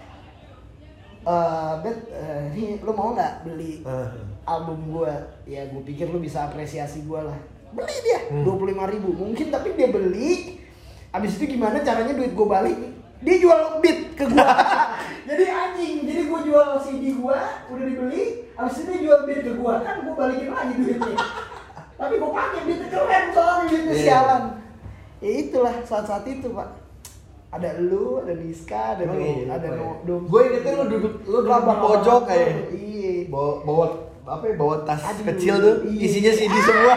Bet, ini lu mau nggak beli album gue? Ya gue pikir lu bisa apresiasi gue lah. Beli dia 25.000 mungkin, tapi dia beli. Abis itu gimana caranya duit gue balik? Dia jual beat ke gue. Jadi anjing, jadi gue jual CD gue udah dibeli. Abis itu dia jual beat ke gue, kan gue balikin lagi duitnya. Tapi gue pakai beat keren soalnya beatnya sialan. Ya itulah saat-saat itu Pak. Ada lu, ada Niska, ada Dom. Gue ingetnya lu duduk di pojok kayak. Iya. Bawa tas Aduh, kecil tuh, iya. isinya CD semua.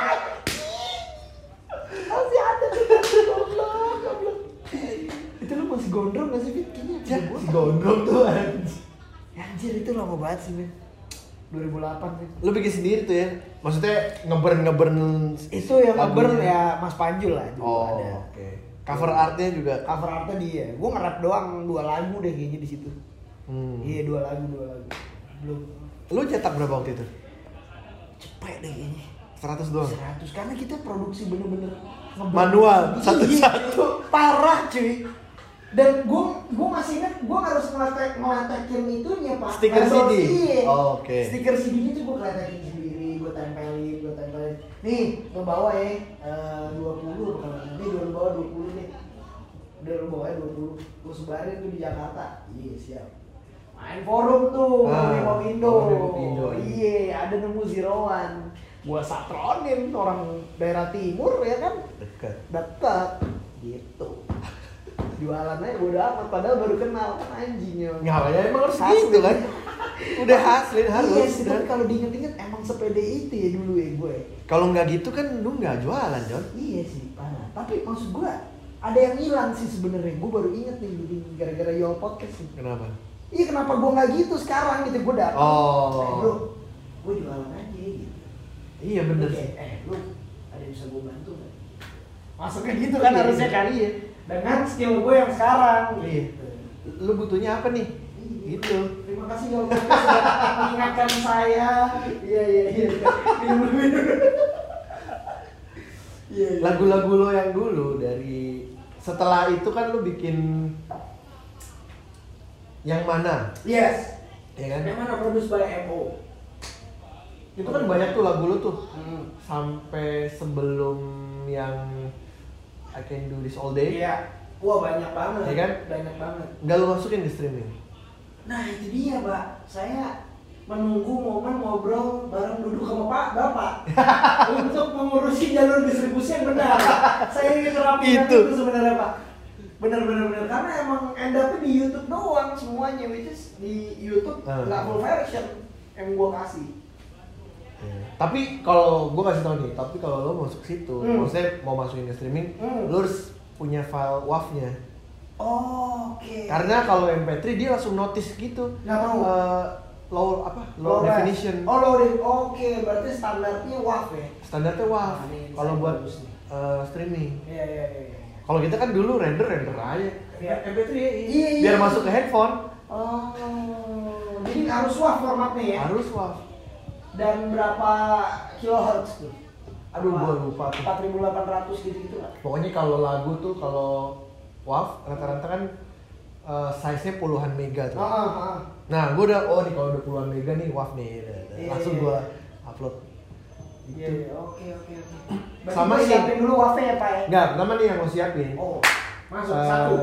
Masih ada tuh goblok. Itu lu masih gondrong gak sih Fit? Kayaknya Ya, si gondrong tuh anjir. Anjir itu lama banget sih Fit. 2008 Fit. Lu bikin sendiri tuh ya? Maksudnya ngeburn Itu yang ngeburn lagunya. ya Mas Panjul lah dulu ada. Oke. Cover artnya juga. Cover artnya dia. Gua nge-rap doang 2 lagu deh kayaknya di situ. Iya 2 lagu. Belum. Lu cetak berapa waktu itu? Cepet deh kayaknya. 100 doang. 100 karena kita produksi bener-bener Manual, Iya, satu-satu. parah cuy. Dan gue masih ingat gue harus ngeletekin itunya Pak. Stiker CD? Iya. Oh, oke. Stiker CD itu gue ngeletekin sendiri, gue tempelin. Nih, lo bawa ya 20 kalau nanti lo bawa 20 nih. Udah lo bawa 20. Gue sebarin tuh di Jakarta. Iya, siap. Main forum tuh, mau Indo. Iya, ada nemu Zero One. Gua satronin orang daerah timur ya kan. Dekat. Gitu. Jualan aja bodo amat padahal baru kenal kan anjingnya. Ngapain emang harus gitu kan? Udah hasilin harus. Iya sih, tapi kalau diinget-inget emang sepede itu ya dulu ya gue. Kalau nggak gitu kan lu nggak jualan, John. Iya sih, parah. Tapi maksud gue ada yang hilang sih sebenarnya. Gue baru inget nih jadi gara-gara Yo Podcast nih. Kenapa? Iya kenapa gue nggak gitu sekarang gitu gue datang. Bro, gue jualan aja gitu. Iya bener. Lu ada yang bisa gue bantu nggak? Masuknya gitu kan harusnya kali ya. Dengan skill gue yang sekarang. Iya. Lu butuhnya apa nih? Gitu. Terima kasih Yo Podcast sudah mengingatkan saya. Iya. Minum. Iya. Lagu-lagu lo yang dulu dari setelah itu kan lu bikin yang mana? Yes. Ya kan? Yang mana produce by MO? Itu kan banyak tuh lagu lu tuh. Sampai sebelum yang I Can Do This All Day. Iya. Wah banyak banget. Iya kan? Banyak banget. Nggak lu masukin di streaming. Nah itu dia Pak. Saya menunggu momen ngobrol bareng duduk sama Pak Bapak untuk mengurusi jalur distribusi yang benar. Saya ingin merapikan itu sebenarnya Pak. Benar karena emang end up di YouTube doang semuanya, which is di YouTube nggak full version yang gue kasih. Tapi kalau gue kasih tau nih, tapi kalau lo masuk situ, maksudnya mau masukin ke streaming, lo harus punya file WAV-nya. Oke. Karena kalau MP3 dia langsung notice gitu. Nggak mau. Low definition. Oh low definition. Oke, berarti standarnya WAV ya. Standarnya WAV. Kalau buat streaming. Iya. Kalau kita kan dulu render aja. Iya. MP3 Iya. biar masuk ke handphone. Oh, jadi harus WAV formatnya ya? Harus WAV. Dan berapa kilohertz tuh? Aduh, gua lupa tuh. 4800 gitu lah. Pokoknya kalau lagu tuh kalau WAV rata-rata kan size-nya puluhan mega tuh. Nah, gua udah nih kalau udah puluhan mega nih WAV nih. Langsung gua upload. Iya, oke. Sama sih. Siapin dulu WAV ya, Pak ya? Enggak, pertama nih yang mau siapin. Oh. Masuk satu.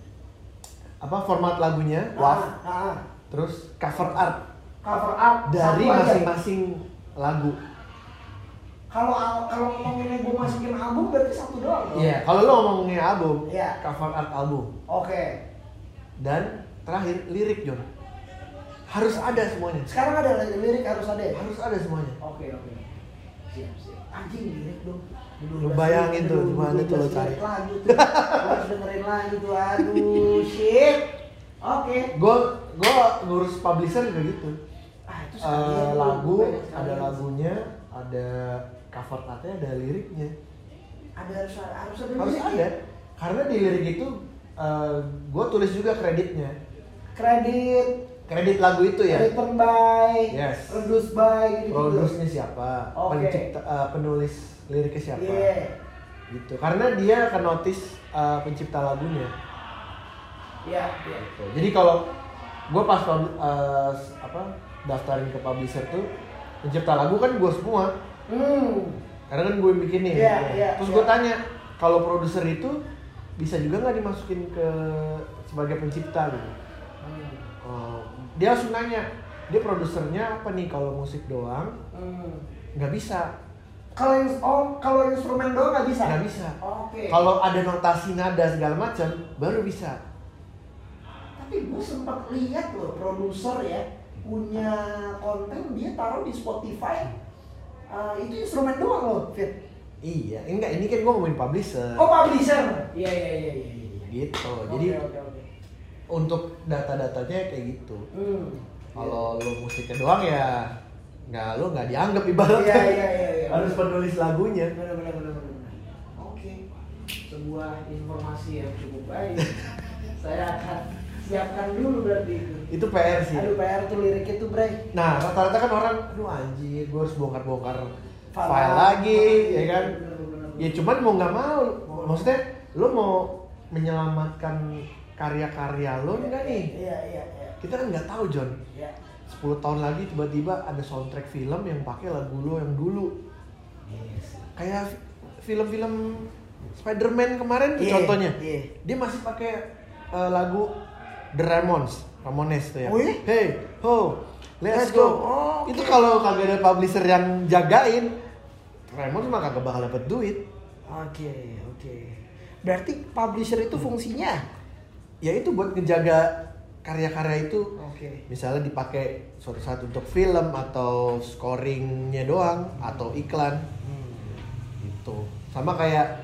Format lagunya WAV. Terus cover art dari masing-masing lagu. Kalau ngomongin gue masukin album berarti satu doang dong? Iya, kalau lo ngomongin album, iya. cover art album. Oke. Dan terakhir lirik, John. Harus ada semuanya. Sekarang ada lirik harus ada ya? Harus ada semuanya. Oke. Siap. Anjing lirik dong. Lu bayangin tuh gimana tuh lo cari. Lagu tuh. Harus dengerin lagi tuh. Aduh, shit. Oke. Gua ngurus publisher juga gitu. Itu lagu, ada lagunya, ada cover artnya, ada liriknya. Harus ada. Harus ada. Karena di lirik itu gue tulis juga kreditnya. Kredit lagu itu ya. Written by, yes. Produced by gitu. Produce-nya siapa? Okay. Penulis liriknya siapa? Yeah. Gitu. Karena dia akan notice pencipta lagunya. Iya. Gitu. Jadi kalau gue pas daftarin ke publisher tuh pencipta lagu kan gue semua. Karena kan gue yang bikin nih. Terus gue tanya, kalau produser itu bisa juga nggak dimasukin ke sebagai pencipta gitu? Dia langsung nanya, dia produsernya apa nih? Kalau musik doang nggak bisa. Kalau instrumen doang nggak bisa? Nggak bisa. Oke. Kalau ada notasi nada segala macam baru bisa. Tapi gue sempat lihat loh produser ya punya konten dia taruh di Spotify. Itu instrumen doang loh, Fit. Iya, enggak, ini kan gue ngomongin publisher. Oh, publisher. Iya. Gitu. Oke. Jadi untuk data-datanya kayak gitu. Kalau lo musiknya doang ya nggak dianggap ibaratnya. Iya. Harus penulis lagunya. Benar. Oke. Sebuah informasi yang cukup baik. Saya akan siapkan dulu berarti itu. Itu PR sih. Aduh, PR tuh liriknya tuh, Bray. Nah, rata-rata kan orang, aduh anjir, gue harus bongkar-bongkar file lagi, ya kan? Bener. Ya cuman mau nggak mau, maksudnya lo mau menyelamatkan karya-karya lo enggak nih? Iya. Kita kan nggak tahu, John. Iya. 10 tahun lagi tiba-tiba ada soundtrack film yang pakai lagu lo yang dulu. Yes. Kayak film-film Spider-Man kemarin tuh contohnya. Dia masih pakai lagu The Ramones tuh ya. Oh iya? Hey, ho, let's go. Oh, itu kalau kagak ada publisher yang jagain, Ramones mah kagak bakal dapet duit. Oke. Berarti publisher itu fungsinya? Ya itu buat ngejaga karya-karya itu. Oke. Misalnya dipakai suatu saat untuk film atau scoringnya doang atau iklan. Gitu. Sama kayak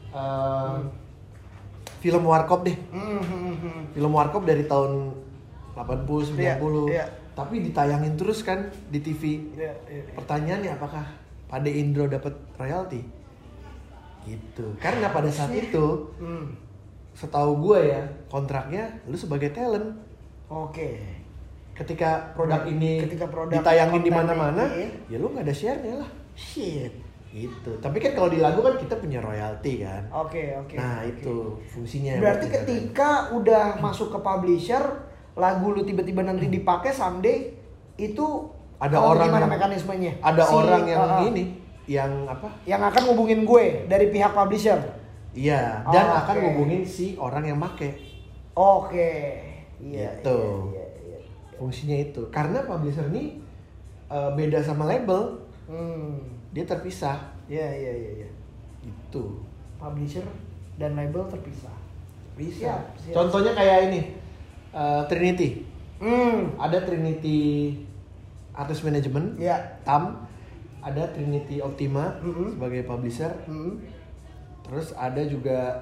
film Warkop deh. Film Warkop dari tahun 80 90. Iya. Tapi ditayangin terus kan di TV. Iya. Pertanyaannya apakah Pade Indro dapat royalti? Gitu. Karena pada saat itu setahu gue ya, kontraknya lu sebagai talent. Oke. Ketika produk ini produk ditayangin di konten mana-mana, ini, ya lu nggak ada share-nya lah. Shit. Gitu. Tapi kan kalau di lagu kan kita punya royalti kan. Oke. Nah, itu fungsinya. Berarti ketika udah masuk ke publisher, lagu lu tiba-tiba nanti dipakai someday, itu ada orang gimana yang, mekanismenya? Ada orang yang ini, yang apa? Yang akan ngubungin gue dari pihak publisher. Iya, dan akan ngubungin si orang yang make. Oke. Iya. Gitu. Fungsinya itu. Karena publisher nih beda sama label, dia terpisah. Iya. Itu. Publisher dan label terpisah. Bisa. Siap. Contohnya kayak ini, Trinity. Ada Trinity Artist Management, TAM. Ada Trinity Optima sebagai publisher. Terus ada juga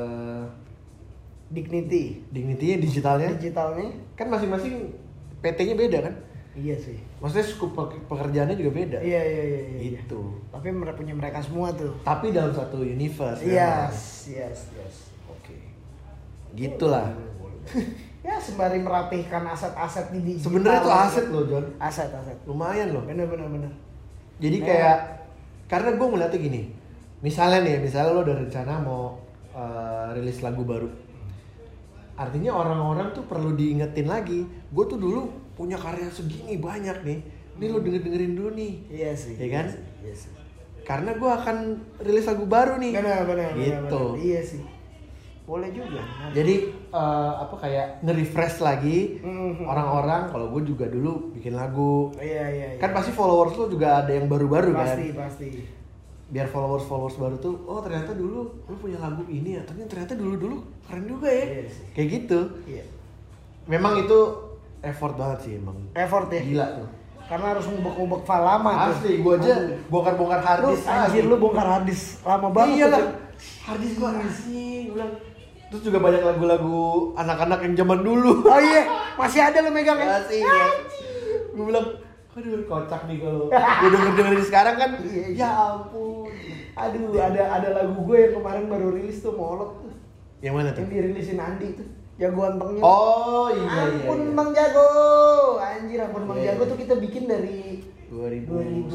Dignity-nya digitalnya. Kan masing-masing PT-nya beda kan? Iya sih. Maksudnya skup pekerjaannya juga beda. Iya. Itu. Tapi punya mereka semua tuh. Tapi dalam satu universe. Yes. Oke. Gitulah. Ya sembari merapihkan aset-aset di digital. Sebenarnya itu aset loh, John. Aset. Lumayan loh. Bener. Jadi kayak karena gue ngeliatnya gini. Misalnya lo udah rencana mau rilis lagu baru. Artinya orang-orang tuh perlu diingetin lagi. Gue tuh dulu punya karya segini banyak nih. Ini lo dengerin dulu nih. Iya sih. Ya kan? Iya sih. Karena gue akan rilis lagu baru nih. Benar. Gitu. Iya sih. Boleh juga. Jadi kayak nge-refresh lagi orang-orang. Kalau gue juga dulu bikin lagu. Iya. Kan pasti followers lo juga ada yang baru-baru kan. Pasti. Biar followers baru tuh, oh ternyata dulu lu punya lagu ini ya, ternyata dulu keren juga ya. Iya sih. Kayak gitu. Iya. Memang itu effort banget sih emang. Effort ya. Gila tuh. Karena harus ngubek-ngubek file lama tuh. Asli, gua aja bongkar-bongkar harddisk. Anjir lu bongkar harddisk lama banget. Iya lah. Tuh. Harddisk gua asing, gua bilang. Terus juga banyak lagu-lagu anak-anak yang zaman dulu. Oh iya, masih ada lu megang ya? Asing. Gua bilang, aduh kocak nih kalau gue denger sekarang kan. Iya. Ya ampun. Aduh, ada lagu gue yang kemarin baru rilis tuh, Molot tuh. Yang mana tuh? Yang dirilisin Andi tuh. Jago antengnya. Oh iya. Ampun Bang Jago. Anjir, Ampun Bang Jago tuh kita bikin dari 2011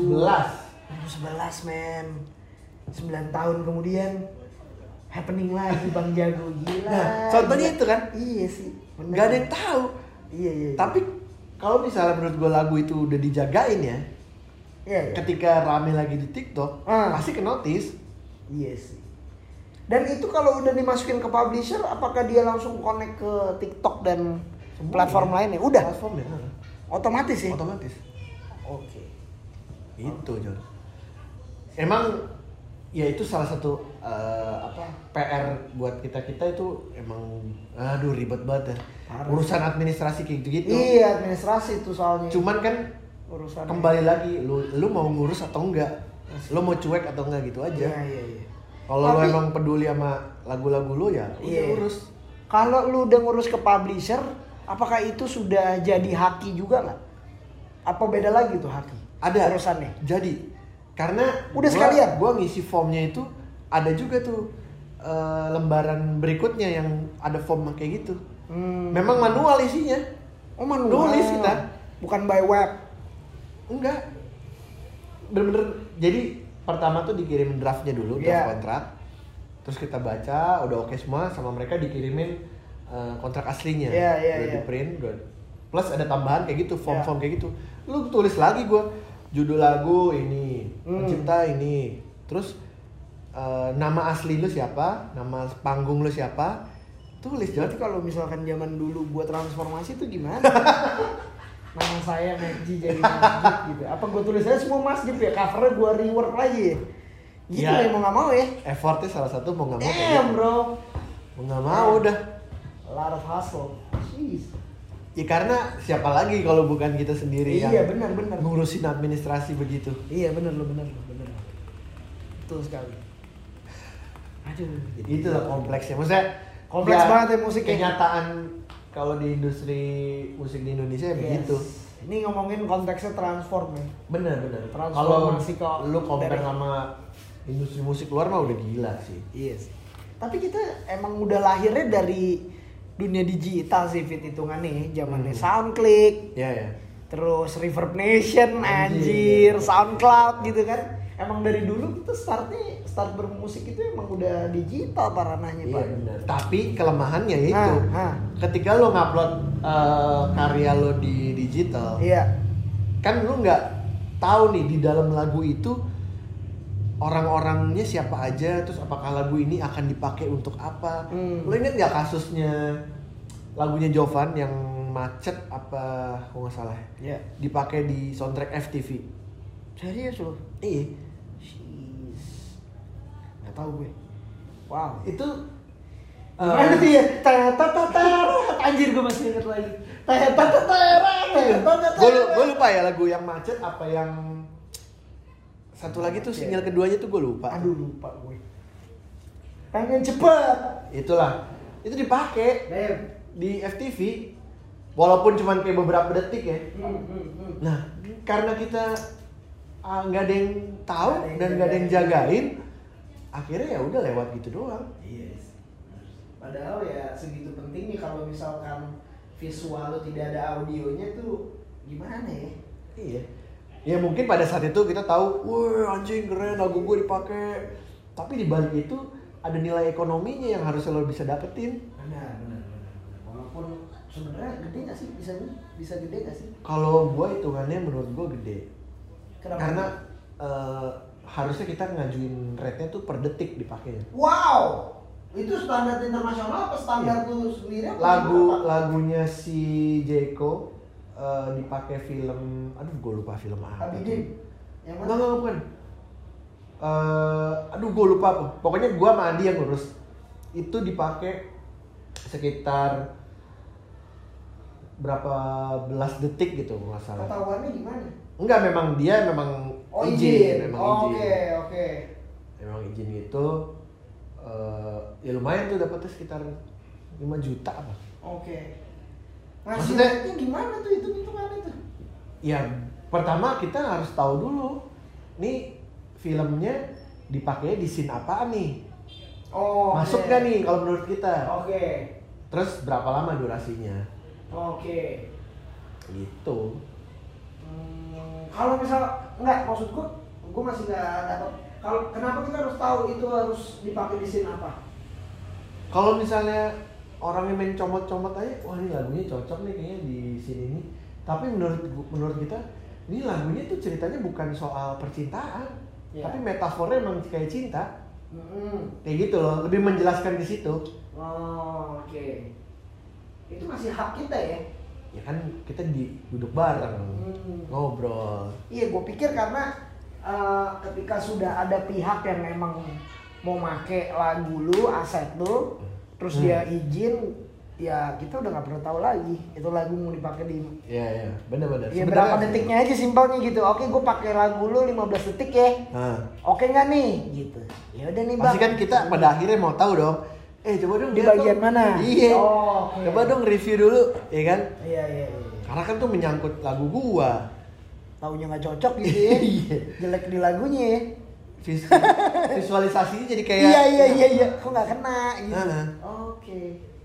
men. 9 tahun kemudian happening lagi Bang Jago, gila. Nah, contohnya itu kan? Iya sih. Bener. Gak ada yang tahu. Iya. Tapi kalau misalnya menurut gue lagu itu udah dijagain ya. Iya. Ketika rame lagi di TikTok, pasti ke notice. Iya sih. Dan itu kalau udah dimasukin ke publisher, apakah dia langsung connect ke TikTok dan platform lainnya? Udah. Platformnya. Otomatis ya? Otomatis. Oke. Itu John. Emang ya itu salah satu PR buat kita itu emang aduh ribet banget ya. Parah. Urusan administrasi kayak gitu. Iya, administrasi itu soalnya. Cuman kan urusan kembali lagi lu mau ngurus atau enggak, lu mau cuek atau enggak gitu aja. Iya. Kalau lu emang peduli sama lagu-lagu lu ya udah urus. Kalau lu udah ngurus ke publisher, apakah itu sudah jadi haki juga nggak? Apa beda lagi tuh haki? Ada urusannya. Jadi karena udah sekalian gua ngisi formnya itu ada juga tuh lembaran berikutnya yang ada form kayak gitu. Memang manual isinya. Oh manual. Nulis kita. Bukan by web. Enggak. Bener-bener jadi pertama tuh dikirim draftnya dulu, draft kontrak. Terus kita baca, udah oke semua, sama mereka dikirimin kontrak aslinya. Udah di print, plus ada tambahan kayak gitu, form-form kayak gitu. Lu tulis lagi gua judul lagu ini, pencipta ini. Terus nama asli lu siapa, nama panggung lu siapa, tulis. Berarti kalau misalkan zaman dulu buat transformasi itu gimana? Nama saya Megji jadi masjid gitu. Apa gue tulis aja semua masjid ya, covernya gue rework lagi. Gitu ya mau nggak mau ya. Effortnya salah satu mau nggak mau. Bro. Mau nggak mau udah. A lot of hustle. Jeez. Ya karena siapa lagi kalau bukan kita sendiri yang benar. ngurusin administrasi begitu. Iya benar. Betul sekali. Aduh. Itulah kompleksnya. Maksudnya kompleks banget ya musiknya. Kenyataan kalau di industri musik di Indonesia ya begitu. Ini ngomongin konteksnya transform ya. Bener. Kalau lu compare sama industri musik luar mah udah gila sih. Iya sih. Tapi kita emang udah lahirnya dari dunia digital sih, Fit, hitungannya zamannya SoundClick. Iya. Terus Reverb Nation, anjir, SoundCloud gitu kan. Emang dari dulu kita start bermusik itu emang udah digital paranahnya, Pak. Iya benar. Tapi kelemahannya itu ketika lo ngupload karya lo di digital, kan lo nggak tahu nih di dalam lagu itu orang-orangnya siapa aja, terus apakah lagu ini akan dipakai untuk apa. Lo inget nggak kasusnya lagunya Jovan yang macet apa kalau nggak salah. Iya. Dipakai di soundtrack FTV. Serius loh? Iya. Nggak tahu gue. Wow. Itu Gimana tuh ya? Anjir gue masih inget lagi. Gue lupa ya lagu yang macet apa yang satu lagi tuh single keduanya tuh gue lupa. Aduh lupa gue. Pengen cepet. Itulah. Itu dipakai di FTV. Walaupun cuma kayak beberapa detik ya. Nah, karena kita nggak ada yang tahu dan nggak ada yang jagain, akhirnya ya udah lewat gitu doang. Yes. Padahal ya segitu pentingnya kalau misalkan visual lo tidak ada audionya tuh gimana ya? Iya. Ya mungkin pada saat itu kita tahu, wah anjing keren lagu gue dipakai. Tapi di balik itu ada nilai ekonominya yang harusnya lo bisa dapetin. Benar. Walaupun sebenarnya gede nggak sih? Bisa gede nggak sih? Kalau gue hitungannya menurut gue gede. Kenapa? Karena harusnya kita ngajuin rate-nya tuh per detik dipakainya. Wow, itu standar internasional apa standar tuh sendiri? Lagunya si Jeko dipakai film, aduh gue lupa film apa. Abidin. Yang mana? Enggak bukan. Aduh gue lupa apa. Pokoknya gue sama Andi yang ngurus. Itu dipakai sekitar berapa belas detik gitu nggak salah. Ketahuannya gimana? Enggak, memang dia izin. Oke. Memang izin gitu. Ya lumayan tuh dapetnya sekitar 5 juta apa. Oke. Maksudnya gimana tuh itu mana tuh? Ya pertama kita harus tahu dulu nih filmnya dipakai di scene apaan nih. Oh. Masuk gak nih kalau menurut kita? Oke. Terus berapa lama durasinya? Oke. Gitu. Kalau misal enggak, maksud gue masih nggak dapat. Kalau kenapa kita harus tahu itu harus dipakai di scene apa? Kalau misalnya orang yang main comot-comot aja, wah ini lagunya cocok nih kayaknya di scene ini. Tapi menurut kita ini lagunya tuh ceritanya bukan soal percintaan, tapi metafornya emang kayak cinta. Kayak gitu loh, lebih menjelaskan di situ. Oh, oke. Itu masih hak kita ya? Ya kan kita duduk bareng, ngobrol. Iya, gue pikir karena ketika sudah ada pihak yang memang mau make lagu lu, aset lu, terus dia izin, ya kita udah nggak perlu tahu lagi itu lagu mau dipakai di. Iya, benar-benar. Ya berapa detiknya aja simpelnya gitu. Oke, gue pakai lagu lu 15 detik ya. Oke nggak nih? Gitu. Ya udah nih bang. Pasti kan kita pada akhirnya mau tahu dong. Coba dong di bagian mana? Iya. Okay. Coba dong review dulu, ya kan? Iya. Karena kan tuh menyangkut lagu gua. Taunya nggak cocok gitu ya. Jelek di lagunya ya. Visualisasinya jadi kayak. Iya. Kok nggak kena gitu. Oke.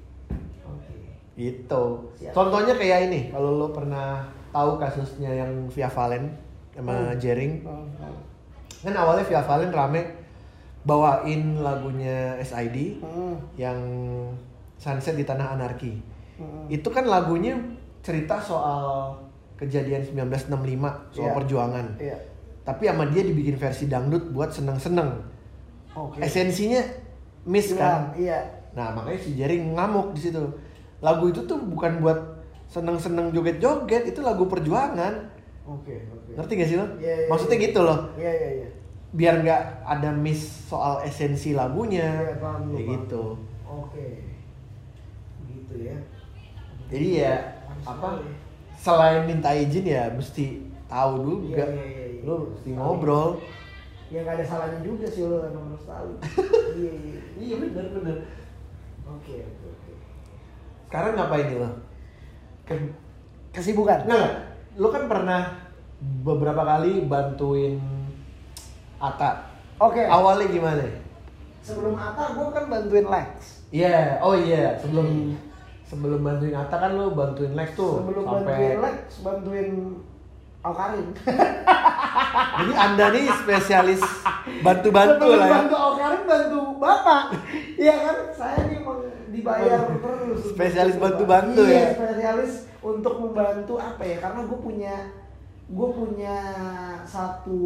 Itu. Contohnya kayak ini. Kalau lo pernah tahu kasusnya yang Via Valen sama Jering. Kan awalnya Via Valen rame bawain lagunya SID yang Sunset di Tanah Anarki. Itu kan lagunya cerita soal kejadian 1965 soal perjuangan. Tapi sama dia dibikin versi dangdut buat seneng-seneng. Esensinya miss kan? Iya. Nah makanya si Jering ngamuk di situ. Lagu itu tuh bukan buat seneng-seneng joget-joget, itu lagu perjuangan. Oke. Ngerti gak sih lo? Iya. Maksudnya gitu loh. Iya. Biar nggak ada miss soal esensi lagunya, kayak gitu. Oke. Gitu ya. Jadi ya apa? Selain minta izin ya mesti tahu juga. Iya. Lo mesti ngobrol. Ya nggak ada salahnya juga sih lo emang harus tahu. Iya benar. Oke. Sekarang ngapain lo? Kesibukan? Nggak. Lo kan pernah beberapa kali bantuin Atta. Oke. Awalnya gimana? Sebelum Atta gue kan bantuin Lex. Iya. Sebelum bantuin Atta kan lo bantuin Lex tuh. Sebelum sampai... bantuin Lex, bantuin Awkarin. Jadi Anda nih spesialis bantu-bantu lah ya. Bantu Awkarin, bantu Bapak. Iya kan, saya nih emang dibayar terus. Spesialis bantu-bantu ya. Iya, spesialis untuk membantu apa ya? Karena gue punya satu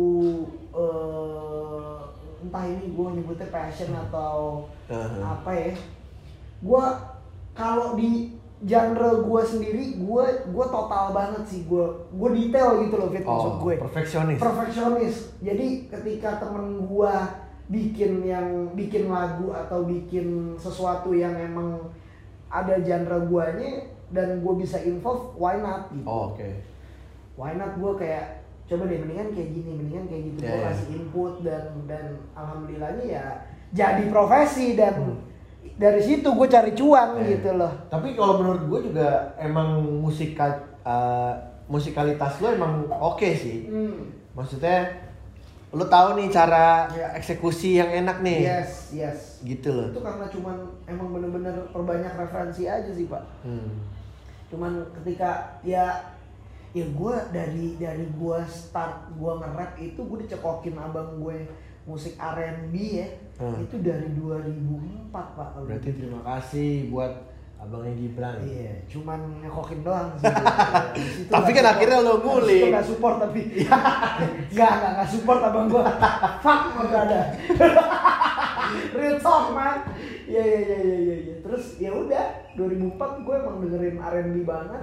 entah ini gue nyebutnya passion atau apa ya. Gue kalau di genre gue sendiri, gue total banget sih, gue detail gitu loh, Fit, maksud gue. Perfeksionis. Jadi ketika temen gue bikin lagu atau bikin sesuatu yang emang ada genre guanya dan gue bisa involve, why not gitu. Why not, gue kayak coba deh mendingan kayak gini, gue kasih input dan alhamdulillahnya ya jadi profesi dan dari situ gue cari cuan gitu loh. Tapi kalau menurut gue juga emang musikalitas lo emang oke sih. Maksudnya lo tahu nih cara eksekusi yang enak nih. Yes. Gitu loh. Itu karena cuman emang bener-bener perbanyak referensi aja sih, Pak. Cuman ketika ya gue dari gue start gue nge-rap itu gue dicekokin abang gue musik R&B ya. Itu dari 2004, Pak. Berarti terima kasih buat abangnya Gibran. Iya, cuman ngekokin doang sih. Tapi kan akhirnya lo ngulik. Itu gak support tapi. Gak support abang gua. Fuck gak ada. Real talk, man. Iya. Terus ya udah 2004 gue emang dengerin R&B banget.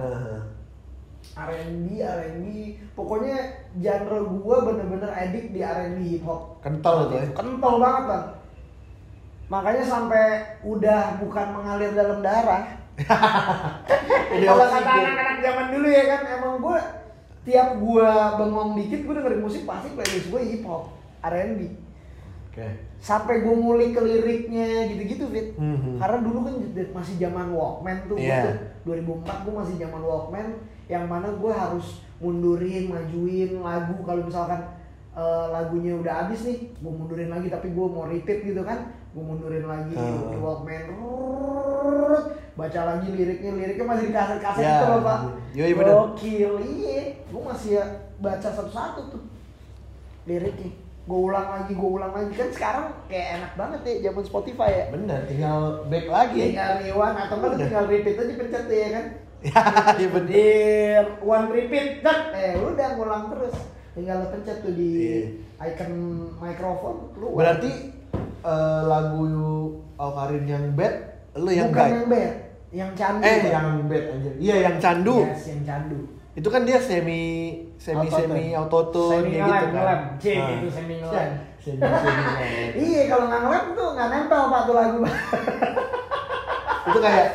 R&B. Pokoknya genre gue bener-bener addict di R&B hip hop. Kental tuh ya. Kental banget, Bang. Makanya sampai udah bukan mengalir dalam darah. Kalau kata anak-anak zaman dulu ya kan, emang gue tiap gue bengong dikit gue dengerin musik pasti playlist gue hip hop, R&B. Sampai gue ngulik ke liriknya gitu-gitu, Fit. Karena dulu kan masih zaman Walkman tuh, 2004 gue masih zaman Walkman, yang mana gue harus mundurin, majuin lagu. Kalau misalkan lagunya udah habis nih, gue mundurin lagi tapi gue mau repeat gitu kan, gue mundurin lagi di Walkman, baca lagi liriknya masih di kaset itu loh, Pak. Gokil, gue masih baca satu-satu tuh liriknya, gue ulang lagi kan. Sekarang kayak enak banget ya zaman Spotify ya. Bener, tinggal back lagi, tinggal rewind atau enggak tinggal repeat aja, pencet ya kan. Iya bener. One repeat, udah ngulang terus. Tinggal lo pencet tuh di icon mikrofon keluar. Berarti lagu Awkarin yang bad, lo yang bukan yang bad, yang candu. Yang bad aja. Iya, yang candu. Yes, yang candu. Itu kan dia semi autotune kayak gitu kan. Itu semi ngelem. Iya, kalau nggak ngelem tuh nggak nempel, Pak, tuh lagu. Itu kayak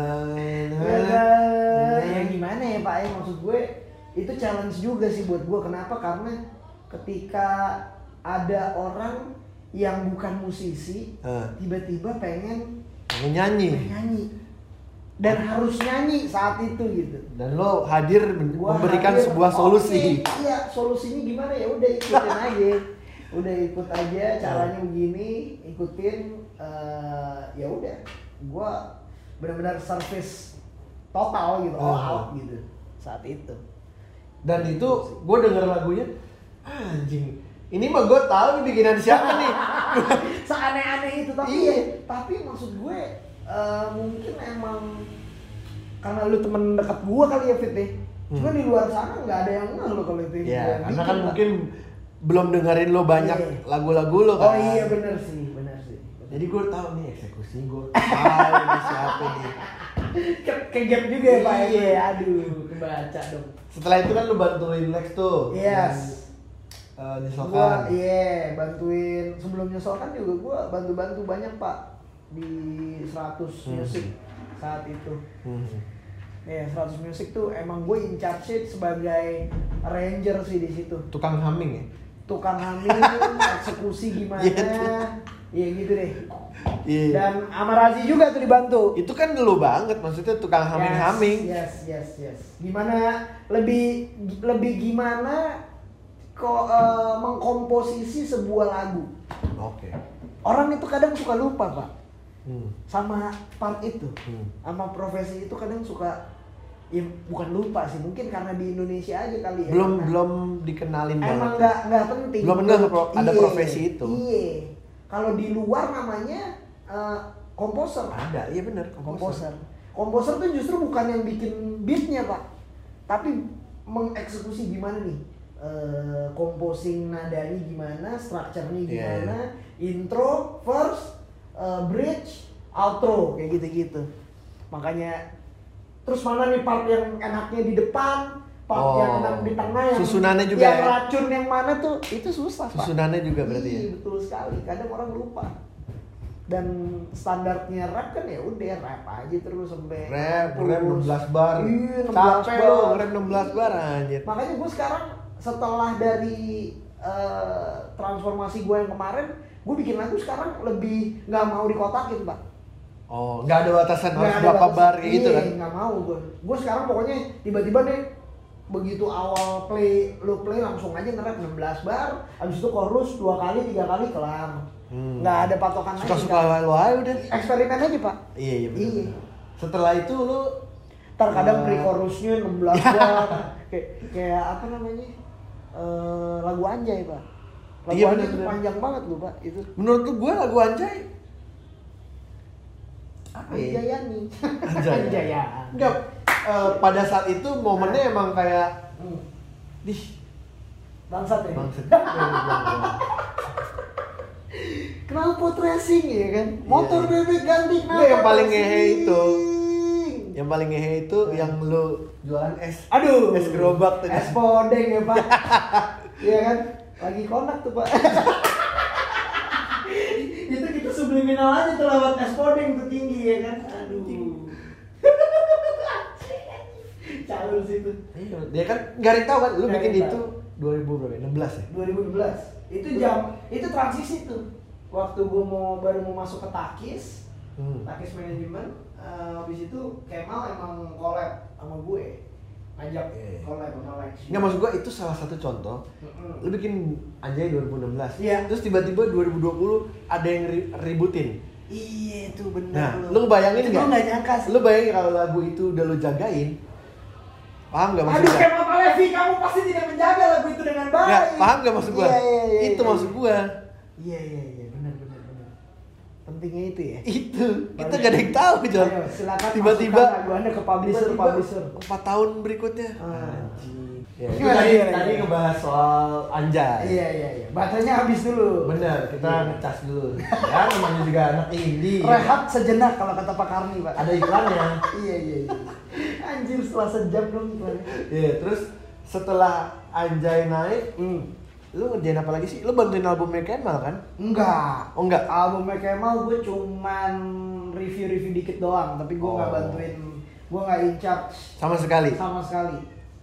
ya gimana ya, Pak, ya maksud gue itu challenge juga sih buat gue. Kenapa? Karena ketika ada orang yang bukan musisi tiba-tiba pengen nyanyi dan harus nyanyi saat itu gitu, dan lo hadir memberikan sebuah solusi. Iya, solusinya gimana? Ya udah ikut aja caranya begini, ikutin. Ya udah, gue benar-benar service total gitu, all out gitu saat itu. Dan itu gue denger lagunya, anjing, ini mah gue tahu nih bikinan siapa nih. Seaneh-aneh itu, tapi maksud gue mungkin emang karena lu temen dekat gue kali ya, Fit ya. Cuma di luar sana nggak ada yang ngeh lo kalau itu. Iya, karena kan mungkin belum dengerin lo banyak lagu-lagu lo kan. Oh iya, bener sih. Jadi gue tahu nih eksekusi, gue tahu nih siapa nih. Kegap juga ya, Pak. Iya, aduh, kebaca dong. Setelah itu kan lu bantuin Lex tuh. Yes. Nyesolkan. Iya, bantuin. Sebelum nyesolkan juga gue bantu-bantu banyak, Pak, di 100 Music saat itu. Ya, 100 Music tuh emang gue in charge sebagai arranger sih di situ. Tukang humming ya? Tukang humming, eksekusi gimana? Iya gitu deh. Iya. Dan sama Razi juga tuh dibantu. Itu kan dulu banget, maksudnya tukang humming. Yes. Gimana lebih gimana kok mengkomposisi sebuah lagu. Oke. Orang itu kadang suka lupa, Pak. Sama part itu. Sama profesi itu kadang suka, ya bukan lupa sih, mungkin karena di Indonesia aja kali ya. Belum dikenalin banget. Emang nggak penting. Belum ada profesi itu. Iya. Kalau di luar namanya komposer. Ada, iya benar, komposer. Komposer tuh justru bukan yang bikin beatnya, Pak, tapi mengeksekusi gimana nih, composing nadanya gimana, structure-nya gimana, intro, verse, bridge, outro, kayak gitu-gitu. Makanya terus mana nih part yang enaknya di depan, part yang enak di tengah, yang susunannya juga yang ya? racun yang mana tuh itu susah Pak. Susunannya juga berarti ya? Iya, betul sekali. Kadang orang lupa. Dan standarnya rap kan ya udah rap aja terus sampai Rap 16 bar. Iya, 16 Capek bar. lo nge-rap 16 bar anjir. Makanya gue sekarang setelah dari transformasi gue yang kemarin, gue bikin lagu sekarang lebih nggak mau dikotakin Pak. Oh, nggak ada batasan Nggak harus ada berapa batasan. bar kayak gitu Iya, kan? nggak mau gue. Gue sekarang pokoknya tiba-tiba nih begitu awal play langsung aja nge-rap 16 bar, habis itu chorus 2 kali 3 kali kelar. Nggak ada patokan lagi. Suka-suka lo aja udah. Eksperimen aja Pak. Iya, iya bener. Iya. Setelah itu lu Terkadang pre-chorusnya 16 bar. kayak apa namanya? Lagu Anjay Pak. Lagu Iya, Anjay itu bener-bener. panjang banget loh Pak itu. menurut lu gue lagu Anjay apa ya? Anjayani. Anjay. Anjayani. Enggak, pada saat itu momennya emang kayak dih Bangsat ya. bangsat. Knalpot racing ya kan? Motor bebek ganti knalpot. Nggak, yang paling ngehe racing. itu. Yang paling ngehe itu yang lu jualan es. Aduh. Es gerobak tuh. Es podeng ya Pak. Iya kan? Lagi konak tuh Pak. Itu kita subliminal aja tuh lewat es podeng tuh tinggi ya kan? Aduh. Calon situ. Iya, dia kan nggak ada yang tahu kan, lu Nggak bikin ada yang itu 2000 berapa? 16 ya? 2012. Itu transisi tuh. Waktu gue baru mau masuk ke Takis, Takis manajemen, habis itu Kemal emang collab sama gue, ngajak collab sama Lex. Nggak, maksud gua itu salah satu contoh. Lu bikin Anjay 2016. Iya. Terus tiba-tiba 2020 ada yang ributin. Iya itu benar. Nah, lu bayangin Itu nggak? gue nggak nyangka sih. Lu bayangin kalau lagu itu udah lu jagain, paham nggak maksud Aduh gua? Kemal Palevi, kamu pasti tidak menjaga lagu itu dengan baik. Nggak, paham nggak maksud gua? Iya, Itu maksud gua. Iya, benar. Pentingnya itu ya. Itu kita gak ada yang tahu John. Ayo, silakan Tiba-tiba masukkan lagu Anda ke publisher. 4 tahun berikutnya. Anjing. Ya, itu Gimana, tadi gimana, tadi gimana? ngebahas soal Anjay. Iya. Baterainya habis dulu. Bener, kita ngecas dulu. Ya namanya juga anak indie. Rehat sejenak kalau kata Pak Karni, Pak. Ada iklannya. Iya. Anjir setelah sejam dong iklannya. Iya, terus setelah Anjay naik, lu ngerjain apa lagi sih? Lu bantuin albumnya Kemal kan? Enggak. Oh enggak? Albumnya Kemal gue cuman review dikit doang, tapi gue nggak bantuin, gue nggak in charge Sama sekali. sama sekali.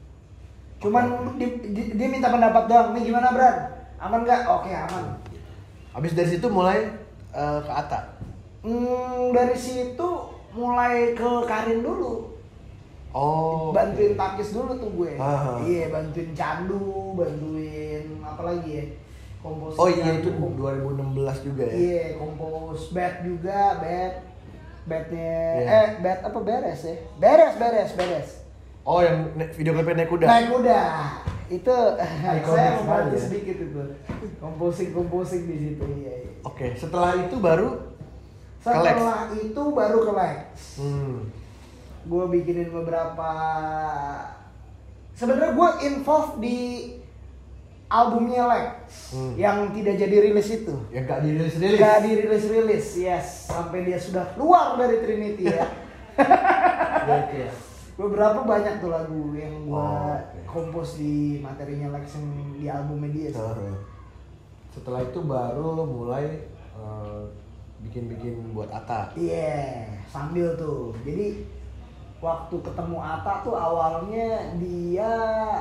Cuman dia minta pendapat doang. Nih gimana Bran? Aman nggak? Oke aman. Habis dari situ mulai ke Atta. Dari situ mulai ke Karin dulu. Oh. Bantuin Takis dulu tuh gue. Aha. Iya, bantuin Candu, bantuin apa lagi ya? Kompos. Oh iya itu 2016 juga ya. Iya, kompos bed juga, bednya Iya. bed apa beres ya? Beres. Oh yang video klipnya naik kuda. Naik kuda. Itu Ikonik saya sekali membantu ya. sedikit itu. Komposing di situ iya. Oke, setelah itu baru Setelah itu baru ke Lex. Gue bikinin beberapa. Sebenarnya gue involved di albumnya Lex yang tidak jadi rilis itu. yang gak dirilis. Gak dirilis, yes. Sampai dia sudah keluar dari Trinity ya. Ya, itu ya. Beberapa banyak tuh lagu yang gue oke. kompos di materinya Lex yang di albumnya dia sih. Setelah itu baru lo mulai bikin-bikin buat Atta. Iya, sambil tuh. Jadi waktu ketemu Atta tuh awalnya dia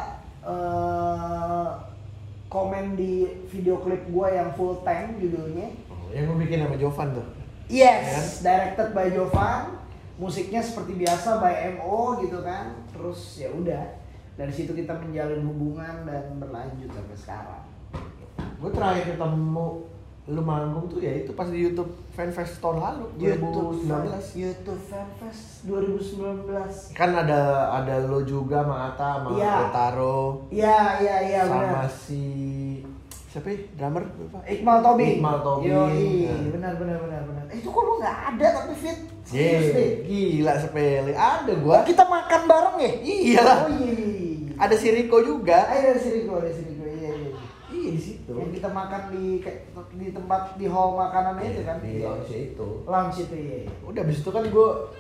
komen di video klip gue yang full tank judulnya. Yang gue bikin sama Jovan tuh. Yes, directed by Jovan. Musiknya seperti biasa by MO gitu kan. Terus ya udah dari situ kita menjalin hubungan dan berlanjut sampai sekarang. Gue terakhir ketemu lu manggung tuh ya itu pas di YouTube Fanfest tahun lalu 2019. YouTube Fanfest 2019. Kan ada lo juga sama Atta sama Otaro. Iya sama benar. si siapa ya? Drummer lupa. Iqmal Tobing. Yoi. Benar. Itu kok lu nggak ada tapi fit. Gila sepele. Ada gua. Kita makan bareng ya? Iyalah. Oh iya. Ada si Rico juga. Ada si Riko. Iya. Iya di situ. Yang kita makan di tempat di hall makanan itu kan? Di lounge itu. Lounge itu iya. Udah abis itu kan gue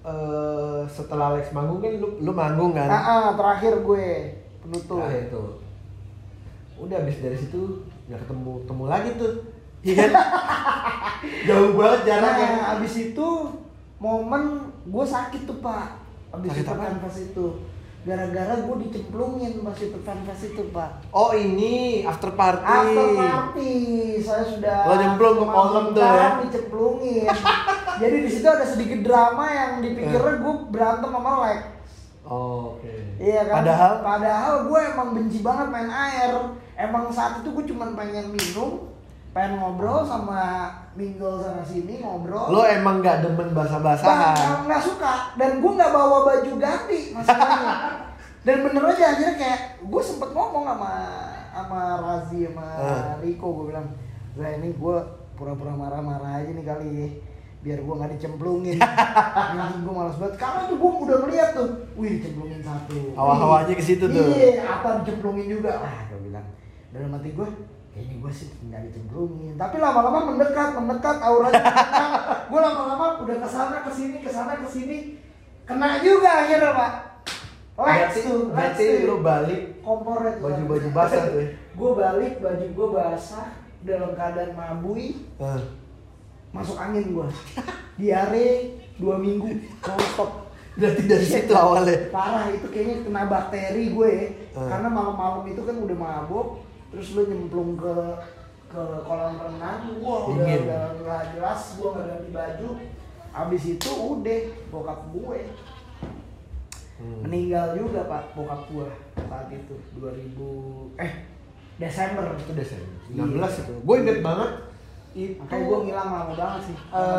setelah Alex manggung kan lu manggung kan? Terakhir gue penutup. Terakhir tuh. Udah habis dari situ nggak ketemu lagi tuh. Iya kan? Jauh banget jaraknya. Nah, abis itu momen gue sakit tuh Pak. Abis Sakit itu apa? fanfest itu. Gara-gara gue dicemplungin pas itu fanfest itu Pak. Oh ini after party. After party, saya sudah. Lo nyemplung ke kolam tuh ya? Dicemplungin. Jadi di situ ada sedikit drama yang dipikirnya gue berantem sama Lex. Oh, oke. Iya kan? Padahal gue emang benci banget main air. Emang saat itu gue cuma pengen minum, pengen ngobrol sama mingle sana sini ngobrol. lo emang nggak demen basah-basahan. Nggak suka. Dan gue nggak bawa baju ganti masalahnya. Dan bener aja akhirnya kayak gue sempet ngomong sama Razi sama Riko, gue bilang, ini gue pura-pura marah-marah aja nih kali ya, biar gue nggak dicemplungin. Anjing gue malas banget karena tuh gue udah ngeliat tuh, wih dicemplungin satu. Hawa-hawanya ke situ tuh. Iya, apa dicemplungin juga. Gue bilang dalam hati gue, kayaknya gue sih nggak dicemplungin. Tapi lama-lama mendekat auranya. Gue lama-lama udah kesana kesini, kena juga akhirnya Pak. Berarti lu balik kompornya tuh. baju basah tuh. Gue balik baju gue basah dalam keadaan mabui. Masuk angin gue. Diare 2 minggu non-stop. Berarti dari situ awalnya. Parah, itu kayaknya kena bakteri gue ya. Karena malam-malam itu kan udah mabuk, terus lu nyemplung ke kolam renang, gua udah nggak jelas, gua nggak ganti baju. Abis itu udah bokap gue meninggal juga Pak, bokap gua saat itu 2000 Desember. Itu Desember 19 itu. Gue inget banget itu. Makanya gue ngilang lama banget sih.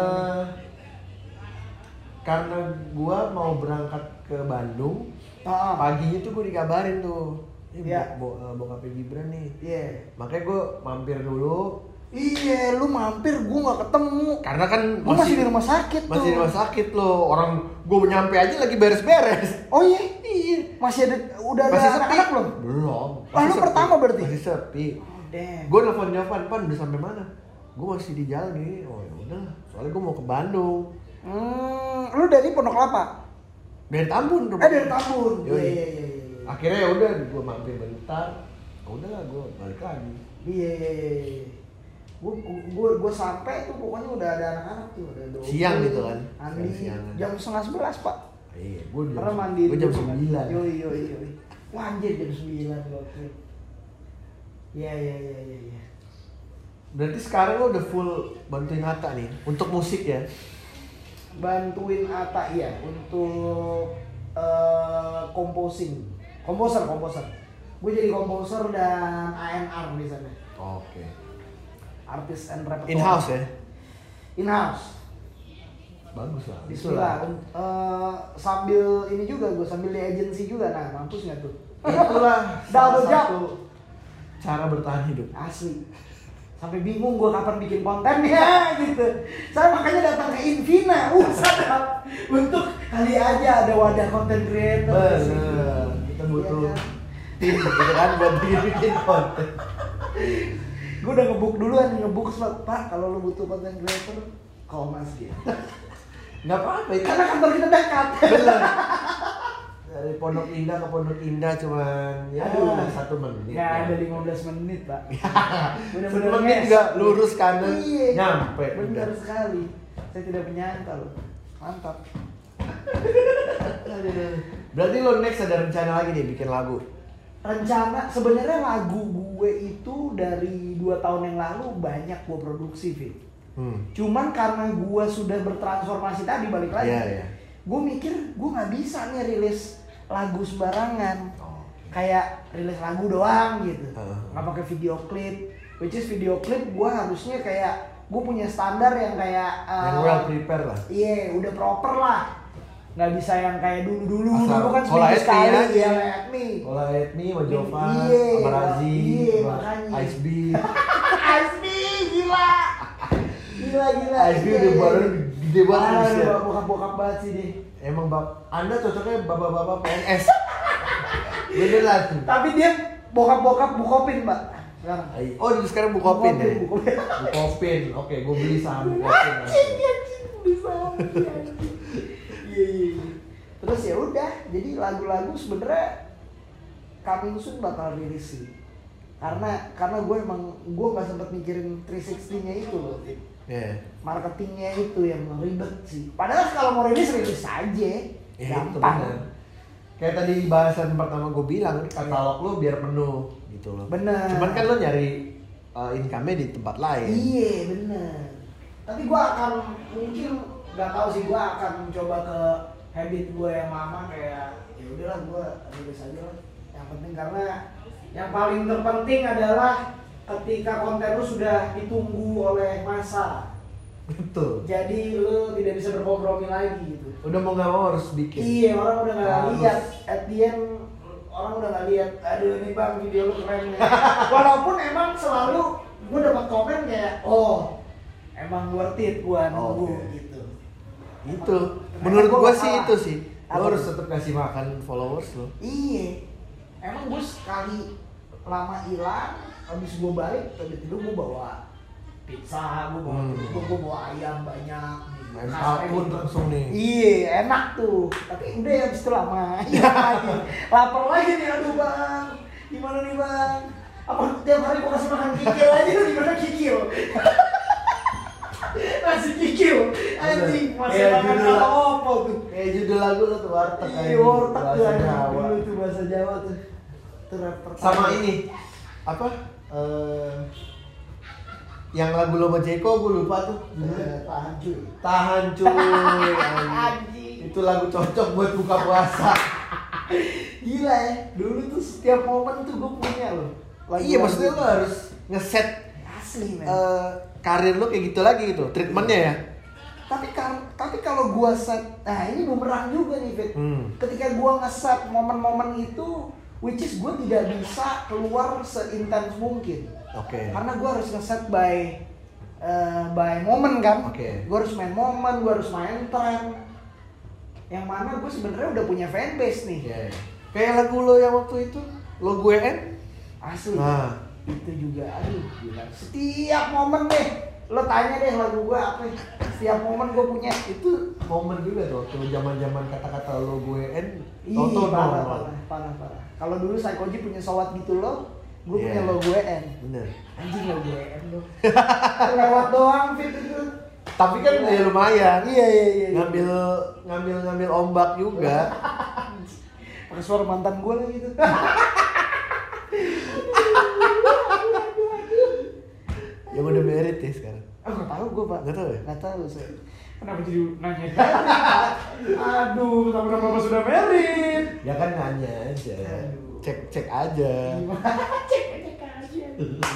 Karena gue mau berangkat ke Bandung, paginya tuh gue dikabarin tuh, bokapnya Gibran nih. Iya. Makanya gue mampir dulu. Iya, lu mampir, gue nggak ketemu. Karena kan gue masih di rumah sakit tuh. Masih di rumah sakit lo. Orang gue nyampe aja lagi beres-beres. Oh iya? Iya. Masih ada, udah masih ada anak-anak belum? Belum. Lu pertama berarti? Masih sepi. Oh, damn. Gue nelfon Pan udah sampai mana? Gue masih di jalan nih. Oh ya udah. Soalnya gue mau ke Bandung. Lu dari Pondok Kelapa? Dari Tambun. Dari Tambun. Iya. Akhirnya ya udah, gue mampir bentar. Udahlah, gue balik lagi. Iya. Gue sampai tuh pokoknya udah ada anak-anak tuh, ada Dogo, siang gitu kan? Andi, jam 10:30 Pak. Iya, gue mandi. Gue jam 9. Yoi. Wah anjir jam 9 waktu. Iya. Berarti sekarang lo udah full bantuin Atta nih untuk musik ya? Bantuin Atta ya untuk komposer. Gue jadi komposer dan A&R di sana. Oke. Artis and repertoire. In-house ya? In-house. Bagus lah. Bismillah. Sambil ini juga gue sambil di agency juga. Nah, mampus nggak tuh? Itulah Double job. Cara bertahan hidup. Asli. Sampai bingung gue kapan bikin kontennya gitu. Saya makanya datang ke Invina. Sadap. Untuk kali aja ada wadah konten creator. Bener. Kita butuh tim gitu kan buat bikin konten. Gue udah ngebuk duluan, Pak, kalau lu butuh konten creator, call Mas gitu. Nggak apa-apa itu. Karena kantor kita dekat. Bener. Dari Pondok Indah ke Pondok Indah cuman ya 1 menit. Nggak ada 15 menit, Pak. 1 menit juga lurus kanan, nyampe. Benar sekali. Saya tidak menyangka loh. Mantap. Berarti lo next ada rencana lagi nih bikin lagu? Rencana sebenarnya lagu gue itu dari 2 tahun yang lalu banyak gue produksi, Fit. Cuman karena gue sudah bertransformasi tadi balik lagi, gue mikir gue nggak bisa nih rilis lagu sembarangan, kayak rilis lagu doang gitu, nggak pakai video klip. Which is video klip gue harusnya kayak gue punya standar yang kayak yang well prepare lah. Iya, udah proper lah. Nggak bisa yang kayak dulu kan seminggu sekali ya kayak Ola Etni, sama Jovan, sama Razi, Ice B. Ice B gila. Ice B udah baru gede banget sih. Bokap banget sih deh. Emang Anda cocoknya bapak-bapak PNS. Bener lah tuh. Tapi dia bokap bukopin, Mbak. Sekarang. Oh, sekarang bukopin ya? Bukopin. Oke, gue beli saham bukopin. Anjing, beli saham. Iya. Terus ya udah, jadi lagu-lagu sebenarnya coming soon bakal rilis sih. Karena gue nggak sempet mikirin 360-nya itu loh. Yeah. Marketingnya itu yang ribet sih. Padahal kalau mau rilis aja, gampang. Kayak tadi bahasan pertama gue bilang, katalog lo biar penuh gitu loh. Bener. Cuman kan lo nyari income-nya di tempat lain. Iya bener. Tapi gue akan mungkin nggak tahu sih, gue akan coba ke habit gue yang lama kayak ya udahlah gue rilis aja lah. Yang penting karena yang paling terpenting adalah ketika konten lu sudah ditunggu oleh massa. Betul. Jadi lu tidak bisa berkompromi lagi gitu. Udah mau nggak mau harus bikin. Iya, orang udah nggak lihat. At the end orang udah nggak lihat. Aduh ini bang video lu keren nih. Walaupun emang selalu gue dapat komen kayak, oh emang worth it gua nunggu gitu. Itu. Menurut gua sih itu sih. Lo harus tetap kasih makan followers lo. Iya. Emang gue sekali lama hilang, habis gue balik, tiba-tiba gue bawa pizza, gue bawa ayam banyak. Main pun langsung nih. Iya, enak tuh. Tapi udah ya habis itu lama. Iya lagi. Lapar lagi nih, aduh bang. Gimana nih bang? Apa tiap hari gue kasih makan kikil aja tuh gimana kikil? Nasi kikil. Anjing, masih makan apa tuh? Kayak judul lagu lo tuh warteg. Iya, warteg tuh dulu tuh bahasa Jawa tuh. Sama ini apa yang lagu lo sama Jeko gue lupa tuh tahan cuy itu lagu cocok buat buka puasa. Gila ya, dulu tuh setiap momen tuh gue punya loh. Iya, maksudnya lo harus ngeset asli men. Karir lo kayak gitu lagi gitu treatmentnya ya. Tapi kalau gue set, nah ini bumerang juga nih Fit. Ketika gue ngeset momen-momen itu, which is gue tidak bisa keluar seintens mungkin. Oke. Karena gue harus ngeset by momen kan. Oke. Gue harus main momen, gue harus main tren. Yang mana gue sebenarnya udah punya fanbase nih. Yeah. Kayak lagu lo yang waktu itu, lo gue N. Asli. Nah. Itu juga, aduh gila. Setiap momen deh, lo tanya deh lagu gue apa. Setiap momen gue punya. Itu momen juga tuh, waktu zaman-zaman kata-kata lo gue N. Iya, parah. Kalau dulu Saikoji punya sowat gitu lo, gue punya lo gue N. Bener. Anjing lo gue N lo. Lewat doang Fit itu. Tapi kan ya lumayan. Iya. Ngambil ombak juga. Pakai suara mantan gue lah gitu. Yang udah married ya sekarang. Nggak tahu gue pak. Nggak tahu ya? Nggak tahu saya. Kenapa jadi nanya? Aduh, sama-sama sudah married. Ya kan nanya aja. Aduh. Cek aja. Cek aja.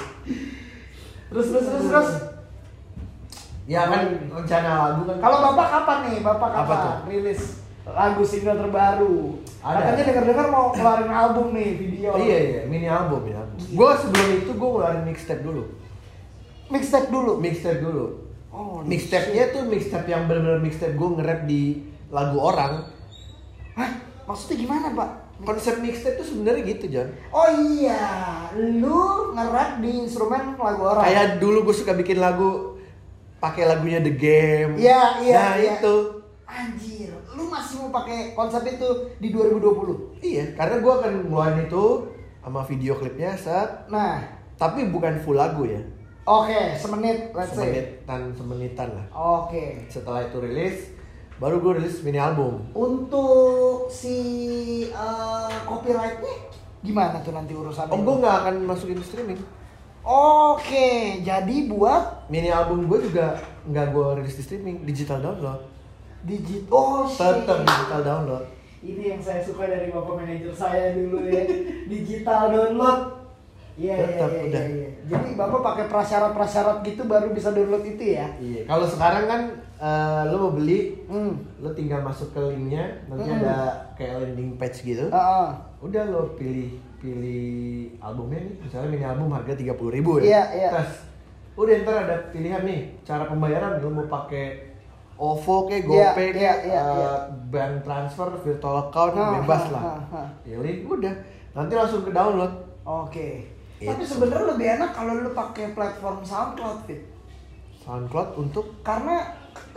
Terus. Ya kan rencana lagu kan. Kalau bapak kapan nih? Bapak Apa kapan tuh? rilis lagu single terbaru? Ada. Katanya dengar-dengar mau keluarin album nih, video. Iya, mini album. Gue sebelum itu gue ngeluarin mixtape dulu. Mixtape dulu. Oh, Mixtape-nya tuh mixtape yang benar-benar mixtape gue nge-rap di lagu orang. Hah? Maksudnya gimana, Pak? Konsep mixtape tuh sebenarnya gitu, John. Oh iya, lu nge-rap di instrumen lagu orang. Kayak dulu gue suka bikin lagu pakai lagunya The Game. Iya. Nah, itu. Anjir, lu masih mau pakai konsep itu di 2020? Iya, karena gue akan ngeluarin itu sama video klipnya set. Nah, Tapi bukan full lagu ya. Oke, semenit, let's say. Semenitan lah. Oke. Setelah itu rilis, baru gue rilis mini album. Untuk si copyrightnya gimana tuh nanti urusannya? Gue nggak akan masukin streaming. Oke, jadi buat Mini album gue juga nggak gue rilis di streaming, digital download. Oh shit. Tetap digital download. Ini yang saya suka dari bapak manajer saya dulu ya, digital download. Iya. Jadi bapak pakai prasyarat gitu baru bisa download itu ya? Iya. Kalau sekarang kan lo mau beli, lo tinggal masuk ke linknya, nanti ada kayak landing page gitu. Udah lo pilih albumnya nih, misalnya mini album harga 30.000 ya. Iya. Terus udah ntar ada pilihan nih cara pembayaran, lo mau pakai OVO kayak GoPay bank transfer, virtual account, bebas lah. Pilih, udah nanti langsung ke download. Oke. Tapi sebenarnya lebih enak kalau lu pakai platform SoundCloud, Fit. SoundCloud untuk karena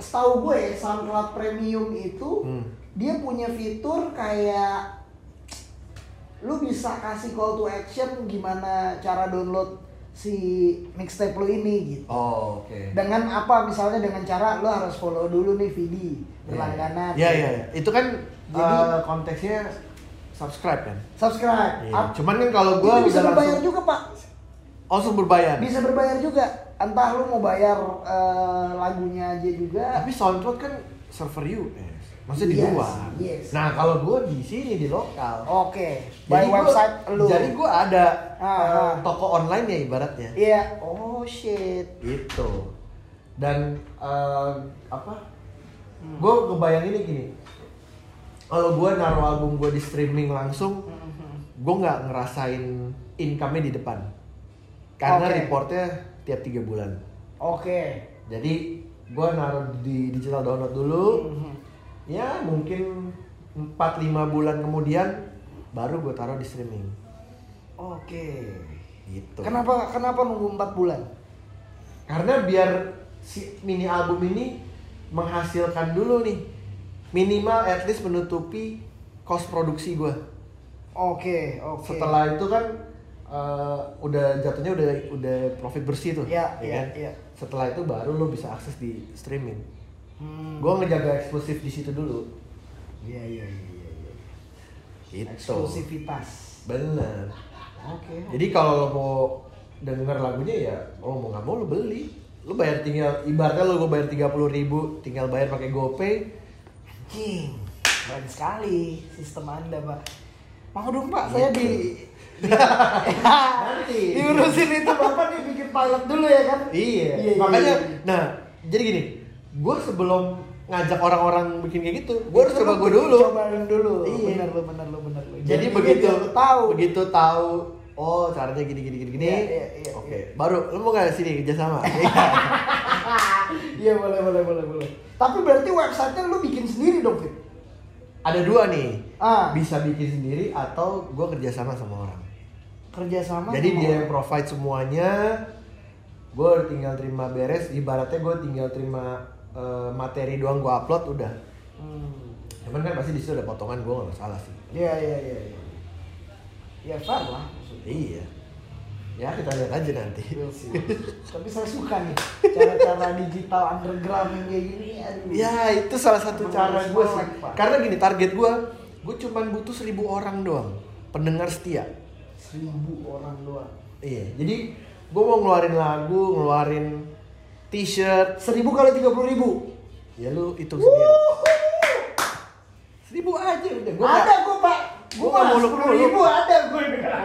setahu gue SoundCloud Premium itu dia punya fitur kayak lu bisa kasih call to action gimana cara download si mixtape lu ini gitu. Oh, oke. Dengan apa misalnya dengan cara lu harus follow dulu nih Vidi berlangganan. Iya. Itu kan jadi konteksnya subscribe kan? Subscribe. Iya. Cuman kan kalau gua bisa udah berbayar langsung juga, Pak. langsung berbayar. Bisa berbayar juga. Entah lu mau bayar lagunya aja juga. Tapi SoundCloud kan server US. Maksudnya di luar. Yes. Nah, kalau gua di sini di lokal. Oke. By website lu. Jadi gua ada toko online ya ibaratnya. Iya. Oh shit. Gitu. Dan gua kebayang ini gini. Kalau gua naruh album gua di streaming langsung, gua nggak ngerasain income-nya di depan. Karena reportnya tiap 3 bulan. Oke. Jadi gua naruh di digital download dulu. Ya mungkin 4-5 bulan kemudian baru gue taruh di streaming. Oke. Gitu. Kenapa nunggu 4 bulan? Karena biar si mini album ini menghasilkan dulu nih minimal at least menutupi cost produksi gue. Oke. Setelah itu kan udah jatuhnya udah profit bersih tuh. Iya. Setelah itu baru lo bisa akses di streaming. Gue ngejaga eksklusif di situ dulu. Iya. Gitu. Eksklusivitas. Bener. Oke. Jadi kalau lo mau denger lagunya ya, lo mau nggak mau lo beli. Lo bayar tinggal, ibaratnya lo bayar 30.000, tinggal bayar pakai GoPay. Anjing, keren sekali sistem Anda, Pak. Mau dong, Pak, saya nanti diurusin itu Bapak nih bikin pilot dulu ya kan? Iya. Makanya, nah, jadi gini. Gue sebelum ngajak orang-orang bikin kayak gitu, gue harus coba gue dulu. Cobain dulu. Iya. Bener lu. Jadi begitu tahu, oh caranya gini. Iya. Oke. Baru lu mau nggak sini kerjasama? Iya boleh. Tapi berarti websitenya lu bikin sendiri dong, Fit? Ada 2 nih. Bisa bikin sendiri atau gue kerjasama sama orang. Kerjasama. Jadi dia yang provide semuanya. Gue tinggal terima beres. Ibaratnya gue tinggal terima materi doang gue upload udah. Cuman kan pasti di situ ada potongan, gue nggak masalah sih. Iya. Ya fair lah. Iya. Ya kita lihat aja nanti. Tapi saya suka nih cara-cara digital underground yang kayak gini. Aduh. Ya itu salah satu cara gue sih. Karena gini target gue cuman butuh 1.000 orang doang pendengar setia. 1.000 orang doang. Iya. Jadi gue mau ngeluarin lagu, ngeluarin t-shirt. 1.000 kali 30.000. Ya lu hitung sendiri. 1.000 aja udah. Ada gue Pak. Gue nggak muluk-muluk. 10.000 ada gue.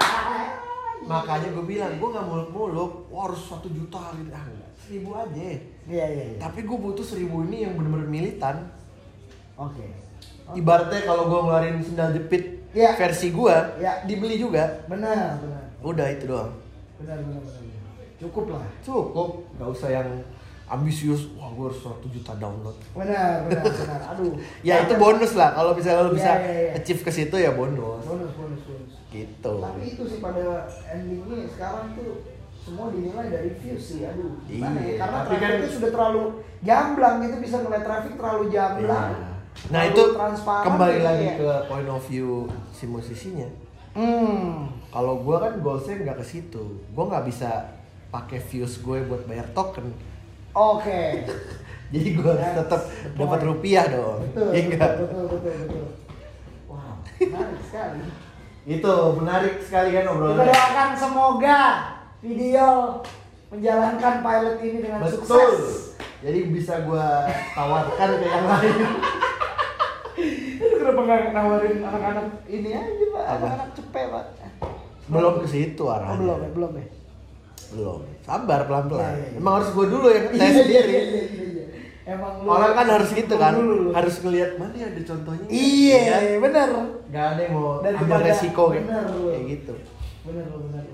Makanya gue bilang gue nggak muluk-muluk. Wah harus 1 juta gitu. Enggak. 1.000 aja. Iya. Tapi gue butuh 1.000 ini yang bener-bener militan. Oke. Ibaratnya kalau gue ngeluarin sendal jepit versi gue, dibeli juga. Benar. Udah itu doang. Benar. Cukup lah. Cukup. Gak usah yang ambisius. Wah gue harus 1 juta download. Benar. Aduh. Ya itu bonus lah. Kalau misalnya lo bisa Iya. achieve ke situ ya bonus. Bonus. Gitu. Tapi itu sih pada endingnya sekarang tuh semua dinilai dari views sih. Aduh. Gimana ya? Iya. Karena Tapi traffic kan itu sudah terlalu gamblang gitu, bisa ngeliat traffic terlalu gamblang. Iya. Nah itu kembali gitu lagi ya. ke point of view si musisinya. Kalau gue kan goalsnya nggak ke situ. Gue nggak bisa pakai views gue buat bayar token. Oke. Jadi gue tetap dapat rupiah dong. Betul. Wow, menarik sekali. Itu menarik sekali kan Kita obrolannya. doakan semoga video menjalankan pilot ini dengan Betul. sukses. Jadi bisa gue tawarkan ke yang lain. Kenapa nggak nawarin anak-anak ini aja Pak? Apa? Anak-anak cepet Pak. Belum ke situ arahnya. Belum ya. Belum. Sabar pelan-pelan. Iya. Emang harus gue dulu yang tes sendiri. Iya. Emang Orang kan harus gitu kan. dulu. Harus ngelihat mana yang ada contohnya. Iya, benar. Gak ada yang mau Daripada- ambil resiko bener lu. kayak gitu. Benar.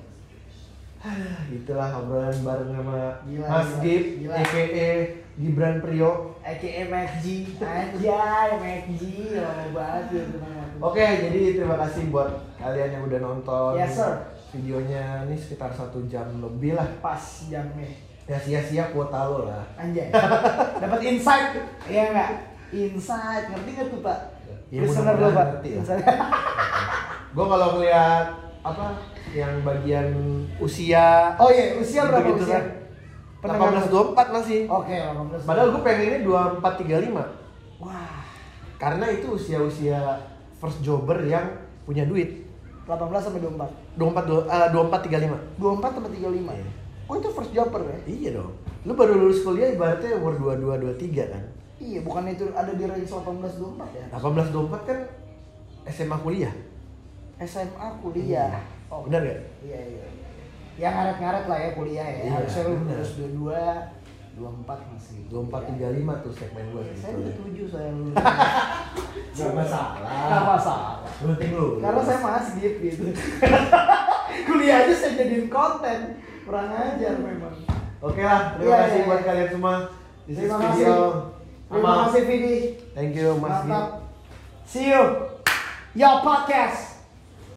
Itulah obrolan bareng sama Gila, Mas gila, Gib, gila. a.k.a. Gibran Prio. AKA MacG. Anjay, MacG. Lama banget ya teman-teman. Oke, jadi terima kasih buat kalian yang udah nonton Yes, sir. videonya. Ini sekitar 1 jam lebih lah. Pas jamnya. Ya sia-sia kuota lo lah. Anjay. Dapat insight, iya enggak? Insight, ngerti enggak tuh, Pak? Ya, Listener lo, mudah-mudahan Pak. ngerti lah. Insight. Gue kalau ngeliat apa yang bagian usia Oh iya, usia berapa gitu usia? kan? 18-24 masih. Oke, 18. Padahal gue pengennya 24-35. Wah, Karena itu usia-usia first jobber yang punya duit. 18 sampai 24. 24-35. 24 sampai 35. Iya. Oh, itu first jobber ya? Iya dong. Lu baru lulus kuliah ibaratnya umur 22-23 kan. Iya, bukan itu ada di range 18 24 ya? 18-24 kan SMA kuliah. SMA kuliah. Oh, benar gak? Iya, iya. Ya ngaret-ngaret lah ya kuliah ya. Iya, Harusnya lu benar. lulus 22, 24 masih. 24-35 tuh segmen gue Saya sebetulnya. 27 saya lulus. Gak masalah. Gak masalah. Penting lu. Karena saya masih gitu. Kuliah aja saya jadiin konten. Kurang ajar memang. Oke lah, terima Iya, kasih iya, buat iya. kalian semua. This is Terima video. kasih. Terima Sama. kasih Vidi. Thank you Mas Gil. Mantap. See you. Your podcast.